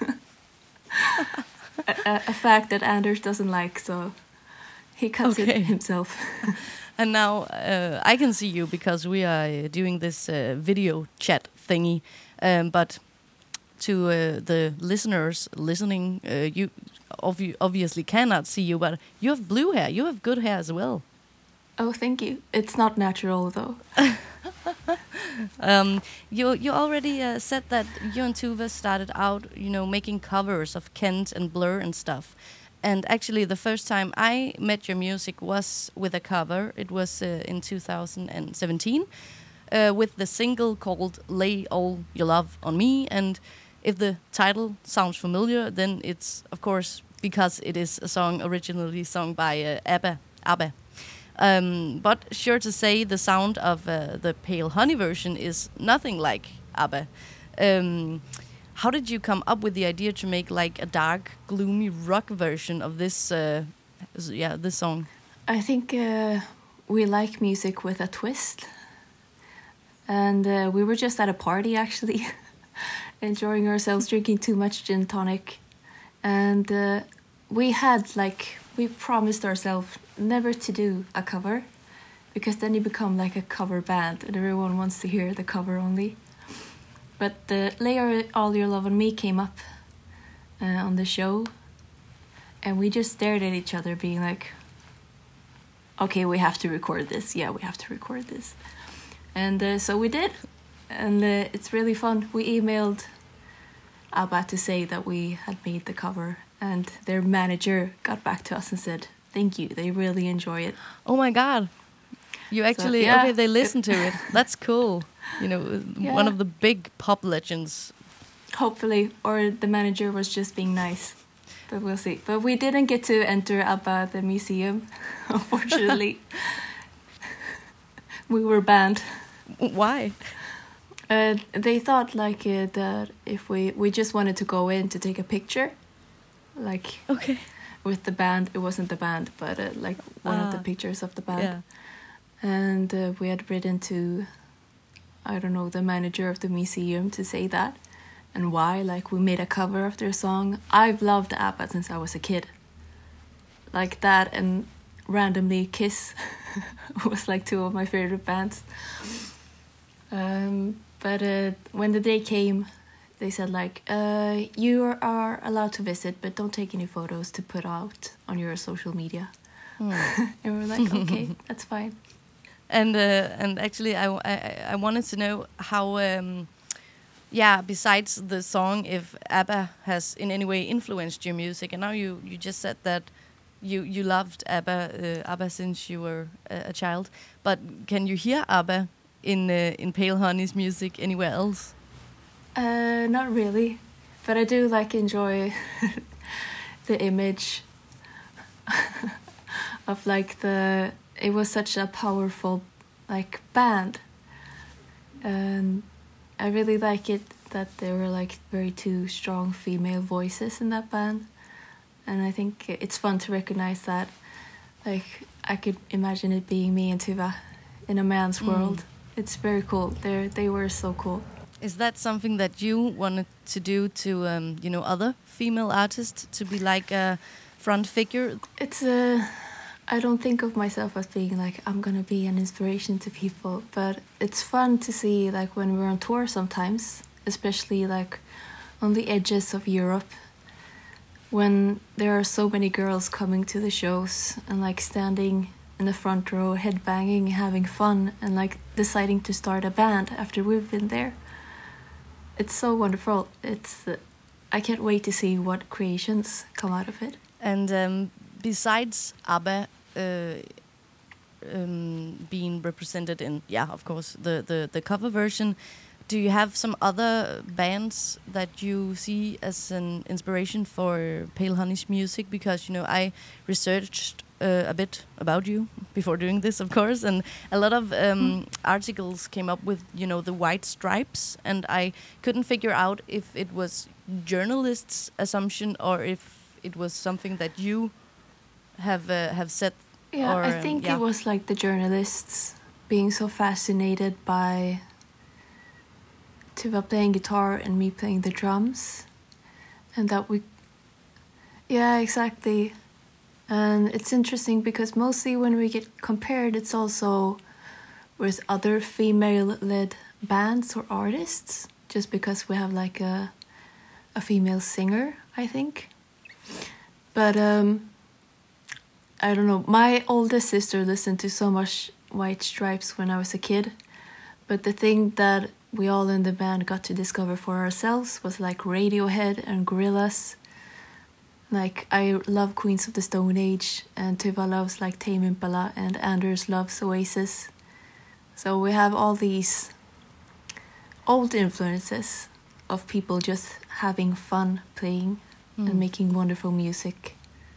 Speaker 8: a, a, a fact that Anders doesn't like, so he cuts
Speaker 4: okay.
Speaker 8: it himself.
Speaker 4: And now uh, I can see you because we are doing this uh, video chat thingy. Um, but to uh, the listeners listening, uh, you obvi- obviously cannot see you, but you have blue hair. You have good hair as well.
Speaker 8: Oh, thank you. It's not natural, though.
Speaker 4: um, you you already uh, said that you and Tuva started out, you know, making covers of Kent and Blur and stuff. And actually, the first time I met your music was with a cover. It was uh, in two thousand seventeen uh, with the single called Lay All Your Love on Me. And if the title sounds familiar, then it's, of course, because it is a song originally sung by uh, ABBA. ABBA. Um, but sure to say, the sound of uh, the Pale Honey version is nothing like ABBA. Um, How did you come up with the idea to make like a dark, gloomy rock version of this? Uh, yeah, this song.
Speaker 8: I think uh, we like music with a twist, and uh, we were just at a party actually, enjoying ourselves, drinking too much gin tonic, and uh, we had like we promised ourselves never to do a cover, because then you become like a cover band, and everyone wants to hear the cover only. But the Lay All Your Love on Me came up uh, on the show, and we just stared at each other being like, okay, we have to record this. Yeah, we have to record this. And uh, so we did, and uh, it's really fun. We emailed ABBA to say that we had made the cover, and their manager got back to us and said, thank you, they really enjoy it.
Speaker 4: Oh my God. You actually, so, yeah. Okay, they listen to it. That's cool. You know, yeah. One of the big pop legends.
Speaker 8: Hopefully, or the manager was just being nice. But we'll see. But we didn't get to enter ABBA the museum, unfortunately. We were banned.
Speaker 4: Why?
Speaker 8: Uh, they thought like uh, that if we we just wanted to go in to take a picture, like
Speaker 4: okay,
Speaker 8: with the band. It wasn't the band, but uh, like one uh, of the pictures of the band.
Speaker 4: Yeah.
Speaker 8: And uh, we had written to, I don't know, the manager of the museum to say that and why. Like, we made a cover of their song. I've loved ABBA since I was a kid. Like that, and randomly Kiss was like two of my favorite bands. Um, but uh, when the day came, they said like, uh, you are allowed to visit, but don't take any photos to put out on your social media. Mm. And we were like, okay, that's fine.
Speaker 4: And uh, and actually, I, I, I wanted to know how, um, yeah, besides the song, if ABBA has in any way influenced your music. And now you, you just said that you, you loved ABBA uh, ABBA since you were a, a child. But can you hear ABBA in uh, in Pale Honey's music anywhere else?
Speaker 8: Uh, not really, but I do like enjoy the image of like the. It was such a powerful, like, band, and I really like it that there were like very two strong female voices in that band, and I think it's fun to recognize that. Like, I could imagine it being me and Tuva in a man's mm. world. It's very cool. They they were so cool.
Speaker 4: Is that something that you wanted to do to, um, you know, other female artists, to be like a front figure?
Speaker 8: It's a. I don't think of myself as being like, I'm gonna be an inspiration to people, but it's fun to see, like, when we're on tour sometimes, especially like on the edges of Europe, when there are so many girls coming to the shows and like standing in the front row, headbanging, having fun, and like deciding to start a band after we've been there. It's so wonderful. It's uh, I can't wait to see what creations come out of it.
Speaker 4: And um, besides ABBA, Uh, um, being represented in, yeah, of course, the, the, the cover version. Do you have some other bands that you see as an inspiration for Pale Honey's music? Because, you know, I researched uh, a bit about you before doing this, of course, and a lot of um, mm. articles came up with, you know, the White Stripes, and I couldn't figure out if it was journalists' assumption or if it was something that you have uh, have said.
Speaker 8: Yeah,
Speaker 4: or,
Speaker 8: I think
Speaker 4: yeah.
Speaker 8: it was like the journalists being so fascinated by Tuva playing guitar and me playing the drums, and that we, yeah, exactly. And it's interesting because mostly when we get compared, it's also with other female-led bands or artists, just because we have like a a female singer, I think. But um, I don't know. My oldest sister listened to so much White Stripes when I was a kid, but the thing that we all in the band got to discover for ourselves was like Radiohead and Gorillaz. Like, I love Queens of the Stone Age, and Tuva loves like Tame Impala, and Anders loves Oasis. So we have all these old influences of people just having fun playing mm. and making wonderful music.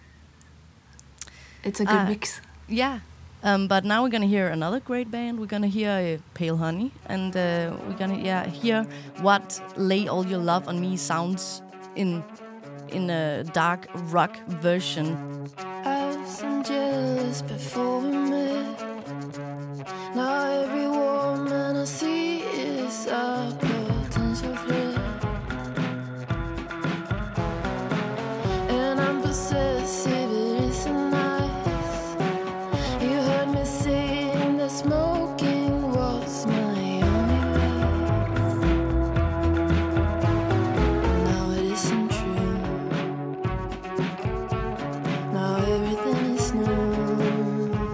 Speaker 8: It's a good uh, mix.
Speaker 4: Yeah. Um, but now we're gonna hear another great band. We're gonna hear uh, Pale Honey, and uh, we're gonna yeah hear what "Lay All Your Love on Me" sounds in in a dark rock version.
Speaker 9: I was jealous before we met. Now every woman I see is a potential threat, and I'm possessive. It isn't nice. You heard me saying that smoking was my only way. Now it isn't true. Now everything is new.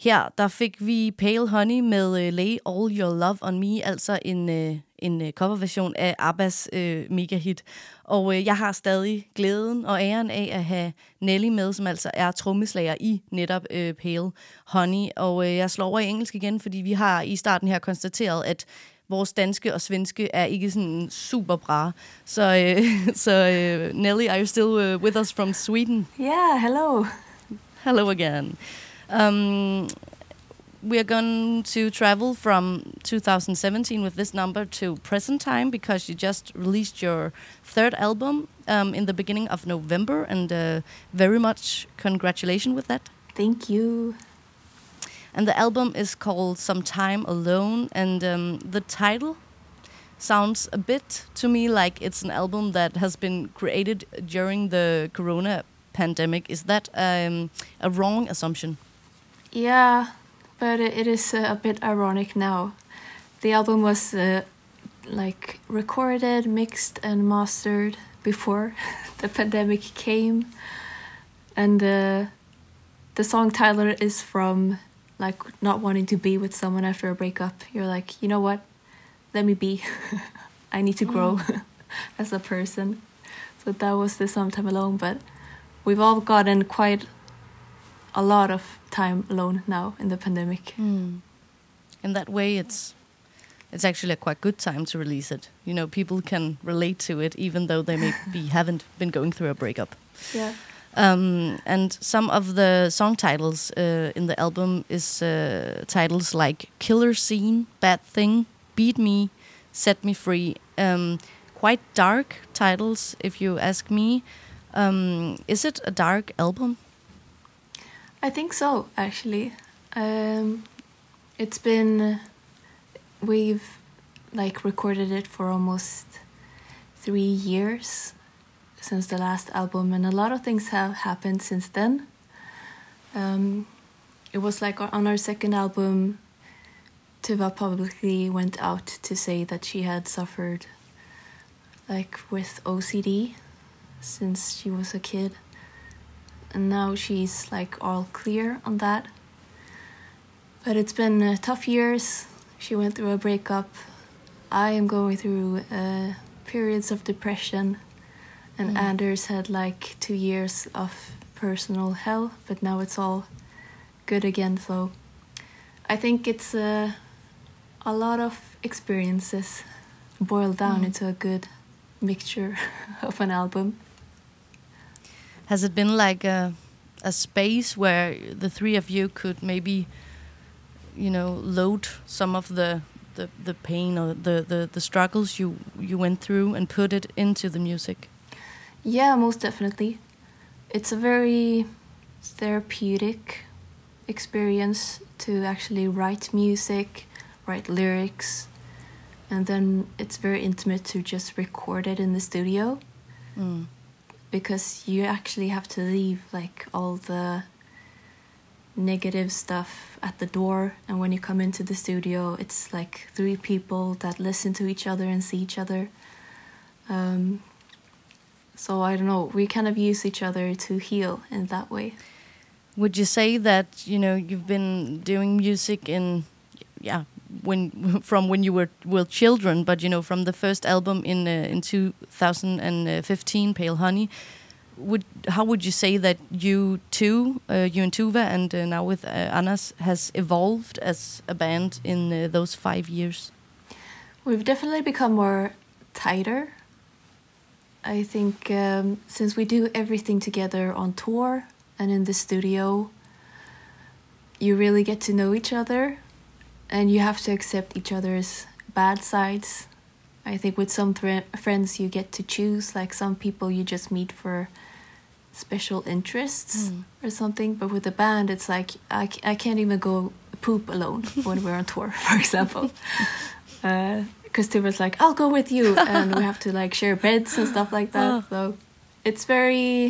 Speaker 4: Her der fik vi Pale Honey med uh, Lay All Your Love On Me, altså en, uh, en uh, coverversion af Abbas uh, megahit. Og uh, jeg har stadig glæden og æren af at have Nelly med, som altså er trommeslager i netop uh, Pale Honey. Og uh, jeg slår over i engelsk igen, fordi vi har i starten her konstateret, at vores danske og svenske er ikke sådan super bra. Så, uh, så uh, Nelly, are you still uh, with us from Sweden?
Speaker 8: Yeah, hello.
Speaker 4: Hello again. Um, we are going to travel from two thousand seventeen with this number to present time because you just released your third album um, in the beginning of November, and uh, very much congratulations with that.
Speaker 8: Thank you.
Speaker 4: And the album is called Some Time Alone, and um, the title sounds a bit to me like it's an album that has been created during the corona pandemic. Is that um, a wrong assumption?
Speaker 8: Yeah, but it is uh, a bit ironic now. The album was uh, like recorded, mixed and mastered before the pandemic came. And uh, the song Tyler is from like not wanting to be with someone after a breakup. You're like, you know what? Let me be. I need to grow mm. as a person. So that was the Sometime Alone, but we've all gotten quite a lot of time alone now in the pandemic.
Speaker 4: Mm. In that way, it's it's actually a quite good time to release it. You know, people can relate to it even though they maybe haven't been going through a breakup.
Speaker 8: Yeah.
Speaker 4: Um, and some of the song titles uh, in the album is uh, titles like Killer Scene, Bad Thing, Beat Me, Set Me Free. Um, quite dark titles, if you ask me. Um, is it a dark album?
Speaker 8: I think so, actually. Um, it's been... We've, like, recorded it for almost three years since the last album, and a lot of things have happened since then. Um, it was, like, on our second album, Tuva publicly went out to say that she had suffered, like, with O C D since she was a kid. And now she's like all clear on that. But it's been uh, tough years. She went through a breakup. I am going through uh, periods of depression. And mm. Anders had like two years of personal hell. But now it's all good again. So I think it's uh, a lot of experiences boiled down mm. into a good mixture of an album.
Speaker 4: Has it been like a, a space where the three of you could maybe, you know, load some of the the, the pain or the, the, the struggles you, you went through and put it into the music?
Speaker 8: Yeah, most definitely. It's a very therapeutic experience to actually write music, write lyrics, and then it's very intimate to just record it in the studio. Mm. Because you actually have to leave like all the negative stuff at the door, and when you come into the studio, it's like three people that listen to each other and see each other. Um, so I don't know, we kind of use each other to heal in that way.
Speaker 4: Would you say that, you know, you've been doing music in, yeah, when from when you were were children, but you know, from the first album in uh, in two thousand fifteen, Pale Honey, would how would you say that you two, uh, you and Tuva, and uh, now with uh, Anders, has evolved as a band in uh, those five years?
Speaker 8: We've definitely become more tighter. I think um, since we do everything together on tour and in the studio, you really get to know each other. And you have to accept each other's bad sides. I think with some th- friends you get to choose. Like some people you just meet for special interests mm. or something. But with the band, it's like I, c- I can't even go poop alone when we're on tour, for example. Because uh, Tuva's like, I'll go with you. And we have to like share beds and stuff like that. Oh. So it's very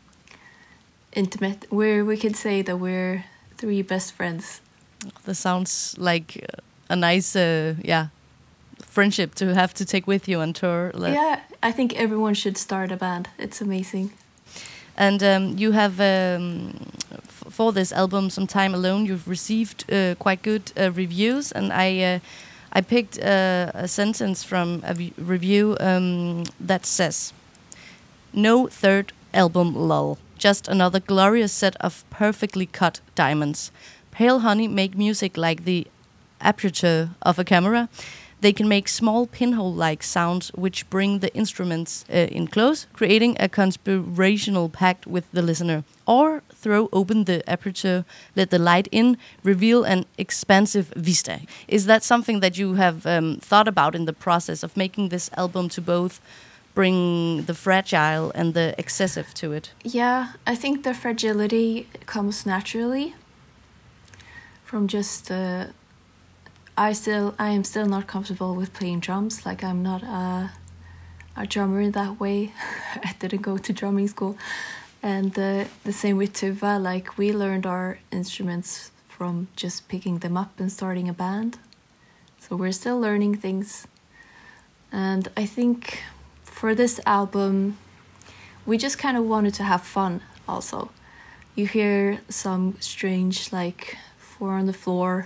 Speaker 8: intimate. We're, we could say that we're three best friends.
Speaker 4: That sounds like a nice, uh, yeah, friendship to have to take with you on tour.
Speaker 8: Yeah, I think everyone should start a band. It's amazing.
Speaker 4: And um, you have, um, f- for this album, Some Time Alone, you've received uh, quite good uh, reviews, and I uh, I picked uh, a sentence from a v- review um, that says, "No third album lull, just another glorious set of perfectly cut diamonds. Pale Honey make music like the aperture of a camera. They can make small pinhole-like sounds which bring the instruments uh, in close, creating a conspirational pact with the listener. Or throw open the aperture, let the light in, reveal an expansive vista." Is that something that you have um, thought about in the process of making this album to both bring the fragile and the excessive to it?
Speaker 8: Yeah, I think the fragility comes naturally from just... Uh, I still, I am still not comfortable with playing drums. Like, I'm not a, a drummer in that way. I didn't go to drumming school. And uh, the same with Tuva. Like, we learned our instruments from just picking them up and starting a band. So we're still learning things. And I think for this album, we just kind of wanted to have fun also. You hear some strange, like, four on the floor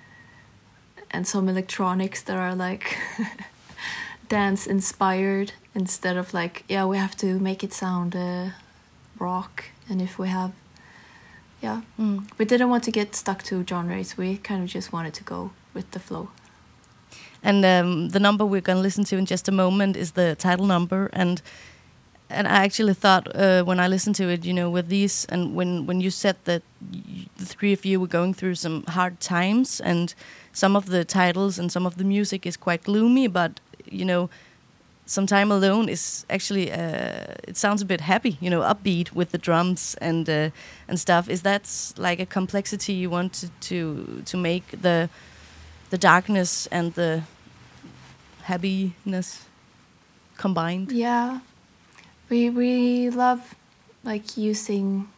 Speaker 8: and some electronics that are like dance inspired instead of like, yeah, we have to make it sound uh, rock. And if we have, yeah, mm. we didn't want to get stuck to genres. We kind of just wanted to go with the flow.
Speaker 4: And um, the number we're going to listen to in just a moment is the title number. And and I actually thought uh, when I listened to it, you know, with these, and when, when you said that y- the three of you were going through some hard times, and some of the titles and some of the music is quite gloomy, but, you know, Some Time Alone is actually, uh, it sounds a bit happy, you know, upbeat with the drums and uh, and stuff. Is that like a complexity you wanted to to make, the the darkness and the happiness combined?
Speaker 8: Yeah, we we love like using,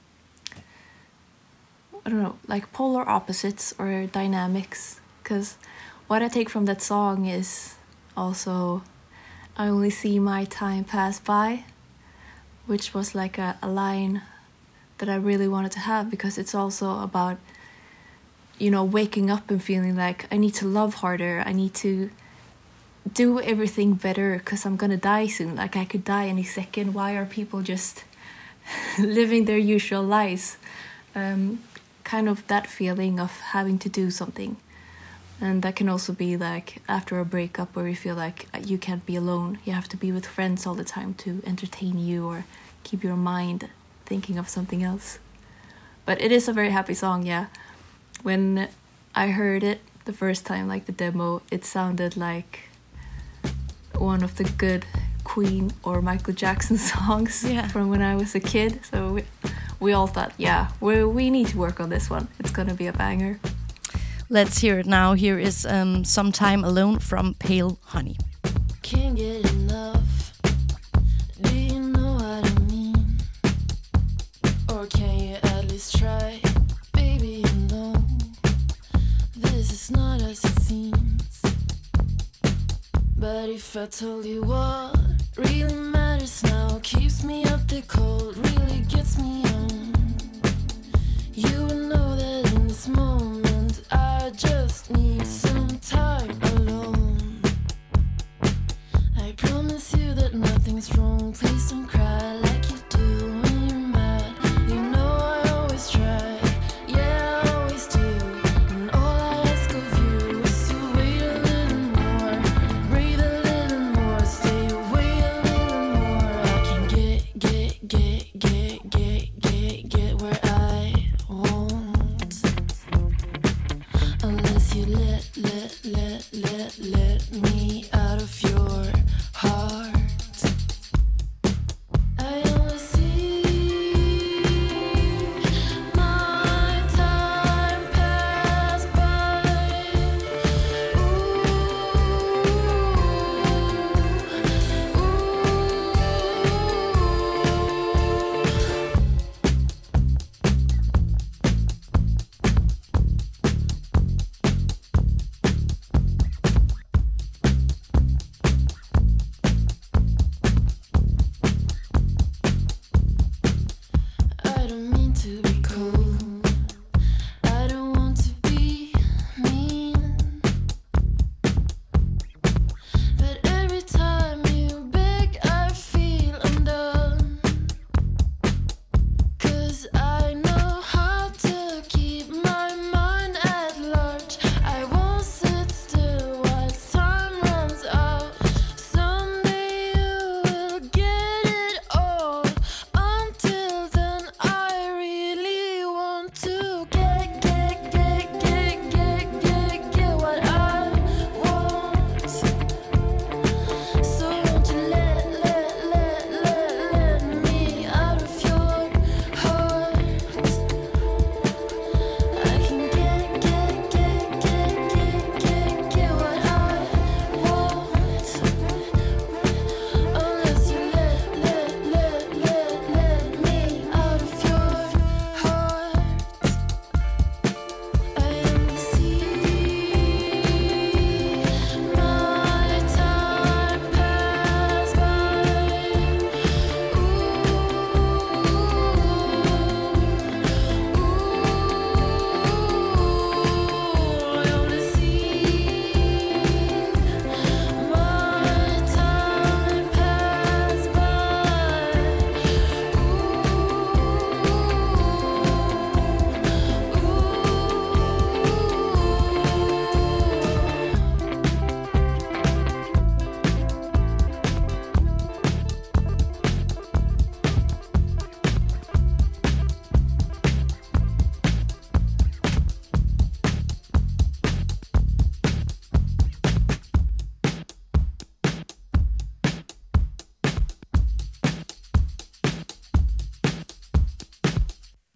Speaker 8: I don't know, like polar opposites or dynamics, because what I take from that song is also, I only see my time pass by, which was like a, a line that I really wanted to have, because it's also about, you know, waking up and feeling like I need to love harder, I need to do everything better because I'm gonna die soon, like I could die any second. Why are people just living their usual lives? Um, kind of that feeling of having to do something. And that can also be like after a breakup where you feel like you can't be alone. You have to be with friends all the time to entertain you or keep your mind thinking of something else. But it is a very happy song, yeah. When I heard it the first time, like the demo, it sounded like one of the good Queen or Michael Jackson songs yeah. from when I was a kid. So we, we all thought, yeah, we we need to work on this one. It's gonna be a banger.
Speaker 4: Let's hear it now. Here is um, Some Time Alone from Pale Honey.
Speaker 9: Can't get enough. Do you know what I mean? Or can you at least try? Baby, you know this is not as it seems. But if I told you what really matters now, keeps me up the cold, really gets me on, you would know that in this moment I just need some time alone. I promise you that nothing's wrong. Please don't cry like you do when you're mad. You know I always try, yeah I always do. And all I ask of you is to wait a little more, breathe a little more, stay away a little more. I can get, get, get, get, get, get,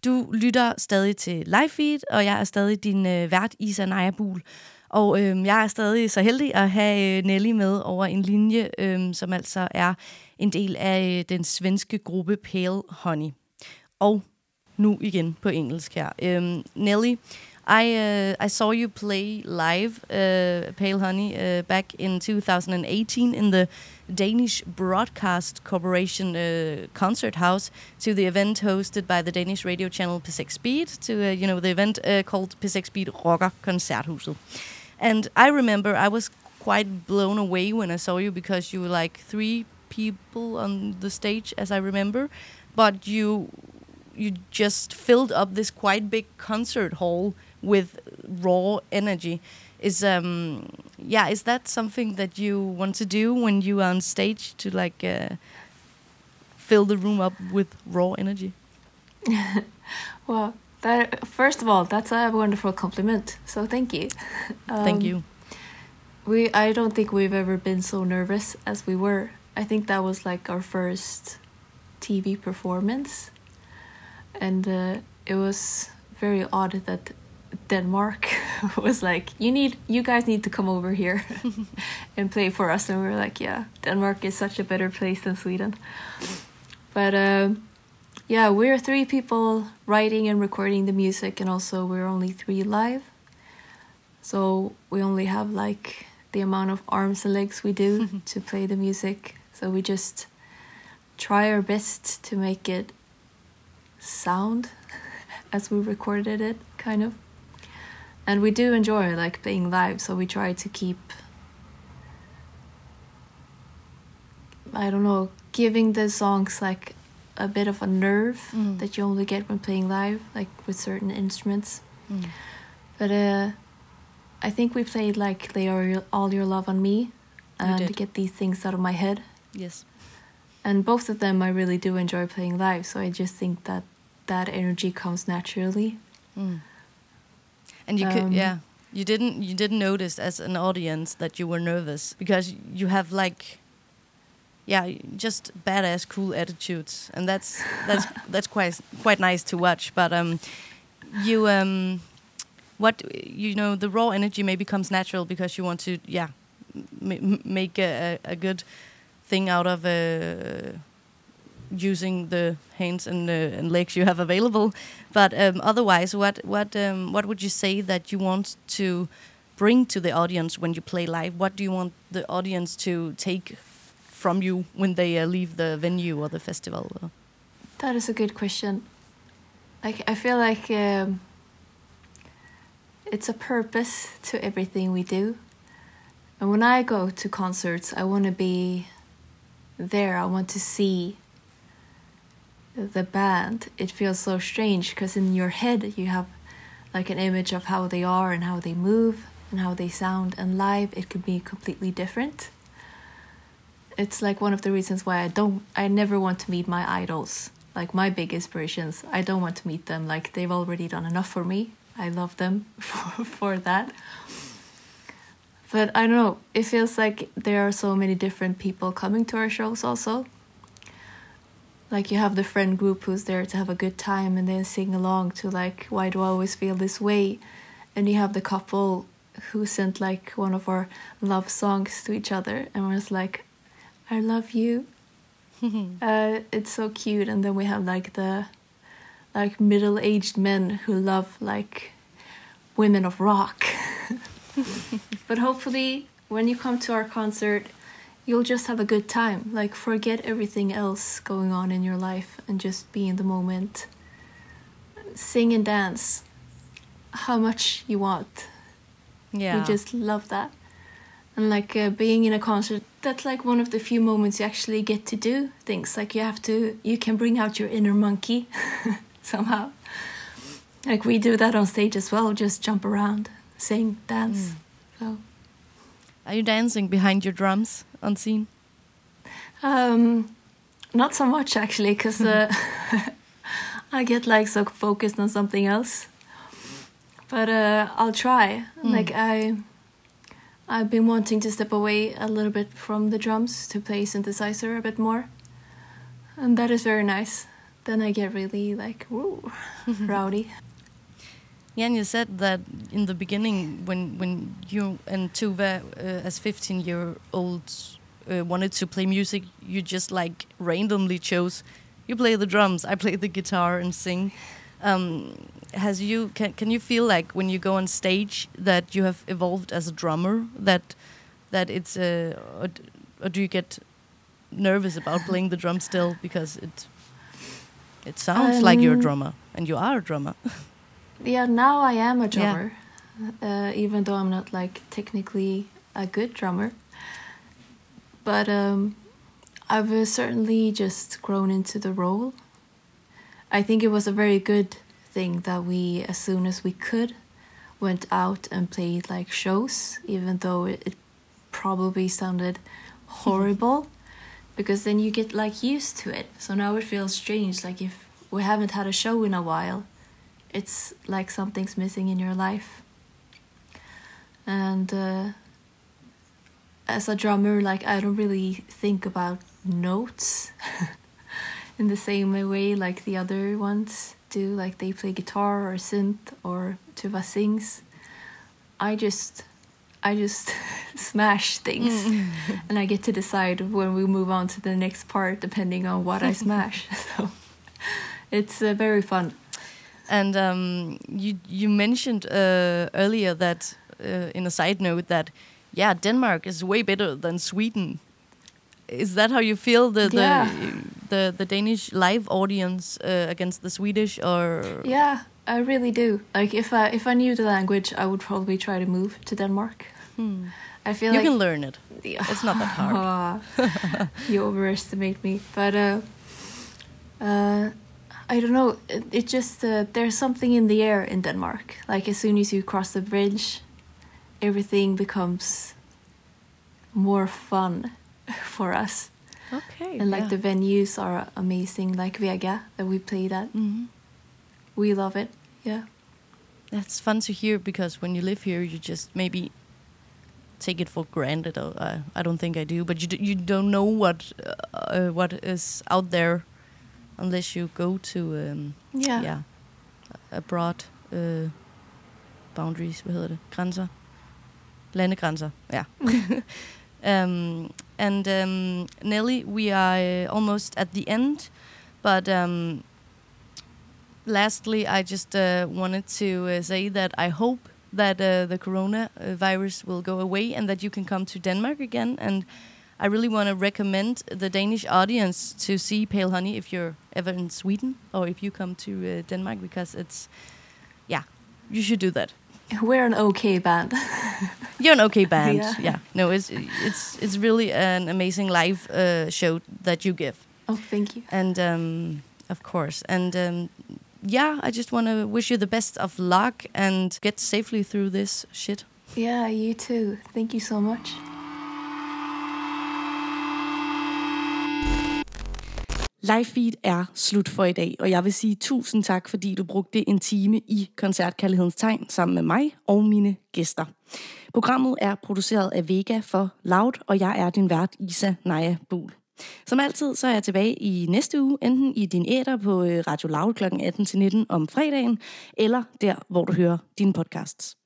Speaker 4: Du lytter stadig til Live Feed, og jeg er stadig din øh, vært, Isa Naja-Buhl. Og øh, jeg er stadig så heldig at have øh, Nelly med over en linje, øh, som altså er en del af øh, den svenske gruppe Pale Honey. Og nu igen på engelsk her. Um, Nelly, I uh, I saw you play live, uh, Pale Honey, uh, back in two thousand eighteen in the Danish Broadcast Corporation uh, concert house to the event hosted by the Danish radio channel P seks Speed, to uh, you know the event uh, called P seks Speed Rocker Koncerthuset. And I remember I was quite blown away when I saw you because you were like three people on the stage, as I remember, but you. You just filled up this quite big concert hall with raw energy. Is um yeah, is that something that you want to do when you are on stage to like uh, fill the room up with raw energy?
Speaker 8: Well, that first of all, that's a wonderful compliment. So thank you. Um,
Speaker 4: thank you.
Speaker 8: We I don't think we've ever been so nervous as we were. I think that was like our first T V performance. And uh, it was very odd that Denmark was like, you need, you guys need to come over here and play for us. And we were like, yeah, Denmark is such a better place than Sweden. But uh, yeah, we're three people writing and recording the music, and also we're only three live. So we only have like the amount of arms and legs we do to play the music. So we just try our best to make it sound as we recorded it, kind of. And we do enjoy like playing live, so we try to keep, I don't know, giving the songs like a bit of a nerve mm. that you only get when playing live, like with certain instruments. Mm. But uh, I think we played like Lay All Your Love on Me and Get These Things Out of My Head.
Speaker 4: Yes.
Speaker 8: And both of them I really do enjoy playing live, so I just think that that energy comes naturally.
Speaker 4: Mm. And you um, could, yeah, you didn't you didn't notice as an audience that you were nervous because you have like, yeah, just badass cool attitudes, and that's that's that's quite quite nice to watch. But um, you um, what you know, the raw energy maybe comes natural because you want to, yeah, m- make a, a good thing out of uh, using the hands and, uh, and legs you have available. But um, otherwise, what what um, what would you say that you want to bring to the audience when you play live? What do you want the audience to take from you when they uh, leave the venue or the festival?
Speaker 8: That is a good question. Like, I feel like um, it's a purpose to everything we do. And when I go to concerts, I want to be there. I want to see the band. It feels so strange because in your head you have like an image of how they are and how they move and how they sound, and live it could be completely different. It's like one of the reasons why I don't I never want to meet my idols, like my big inspirations. I don't want to meet them. Like, they've already done enough for me. I love them for, for that. But I don't know, it feels like there are so many different people coming to our shows also. Like, you have the friend group who's there to have a good time and then sing along to like, why do I always feel this way? And you have the couple who sent like one of our love songs to each other and was like, I love you. uh, it's so cute. And then we have like the like middle-aged men who love like women of rock. But hopefully when you come to our concert, you'll just have a good time. Like, forget everything else going on in your life and just be in the moment. Sing and dance how much you want.
Speaker 4: Yeah.
Speaker 8: We just love that. And like uh, being in a concert, that's like one of the few moments you actually get to do things. Like, you have to, you can bring out your inner monkey somehow. Like, we do that on stage as well, just jump around, sing, dance. Mm. So.
Speaker 4: Are you dancing behind your drums on scene?
Speaker 8: Um, not so much actually, because uh, I get like so focused on something else. But uh, I'll try. Mm. Like I, I've been wanting to step away a little bit from the drums to play synthesizer a bit more, and that is very nice. then I get really like woo, rowdy.
Speaker 4: Yeah, and you said that in the beginning when when you and Tuva, uh, as fifteen-year-olds, uh, wanted to play music, you just like randomly chose. You play the drums, I play the guitar and sing. Um, has you can can you feel like when you go on stage that you have evolved as a drummer? That that it's uh, or, or do you get nervous about playing the drum still because it it sounds um, like you're a drummer and you are a drummer?
Speaker 8: Yeah, now I am a drummer, yeah. uh, even though I'm not like technically a good drummer. But um, I've uh, certainly just grown into the role. I think it was a very good thing that we, as soon as we could, went out and played like shows, even though it, it probably sounded horrible, because then you get like used to it. So now it feels strange, like if we haven't had a show in a while, it's like something's missing in your life. And uh, as a drummer, like I don't really think about notes in the same way like the other ones do. Like they play guitar or synth or Tuva sings. I just, I just smash things, mm. and I get to decide when we move on to the next part depending on what I smash. So it's uh, very fun.
Speaker 4: And um, you you mentioned uh, earlier that uh, in a side note that yeah, Denmark is way better than Sweden. Is that how you feel the
Speaker 8: yeah.
Speaker 4: the, the the Danish live audience uh, against the Swedish? Or
Speaker 8: yeah, I really do. Like if I if I knew the language, I would probably try to move to Denmark.
Speaker 4: Hmm.
Speaker 8: I feel
Speaker 4: you
Speaker 8: like
Speaker 4: can learn it. Yeah. It's not that hard.
Speaker 8: You overestimate me, but uh, uh, I don't know. It, it just uh, there's something in the air in Denmark. Like as soon as you cross the bridge, everything becomes more fun for us.
Speaker 4: Okay.
Speaker 8: And like
Speaker 4: yeah.
Speaker 8: the venues are amazing, like Vega that we played at.
Speaker 4: Mm-hmm.
Speaker 8: We love it. Yeah.
Speaker 4: That's fun to hear, because when you live here, you just maybe take it for granted. Or, uh, I don't think I do, but you d- you don't know what uh, what is out there unless you go to um,
Speaker 8: yeah
Speaker 4: yeah abroad uh, boundaries. Hvad hedder det? Grænser. Landegrænser. Yeah. um, and um, Nelly, we are uh, almost at the end, but um, lastly, I just uh, wanted to uh, say that I hope that uh, the coronavirus will go away and that you can come to Denmark again. And I really want to recommend the Danish audience to see Pale Honey if you're ever in Sweden or if you come to uh, Denmark, because it's, yeah, you should do that.
Speaker 8: We're an okay band.
Speaker 4: You're an okay band.
Speaker 8: Yeah.
Speaker 4: yeah. No, it's it's it's really an amazing live uh, show that you give.
Speaker 8: Oh, thank you.
Speaker 4: And um, of course, and um, yeah, I just want to wish you the best of luck and get safely through this shit.
Speaker 8: Yeah, you too. Thank you so much.
Speaker 4: Live Feed er slut for i dag, og jeg vil sige tusind tak, fordi du brugte en time i Koncertkærlighedens Tegn sammen med mig og mine gæster. Programmet er produceret af Vega for Loud, og jeg er din vært, Isa Naja Buhl. Som altid, så er jeg tilbage i næste uge, enten i din æter på Radio Loud klokken atten til nitten om fredagen, eller der, hvor du hører dine podcasts.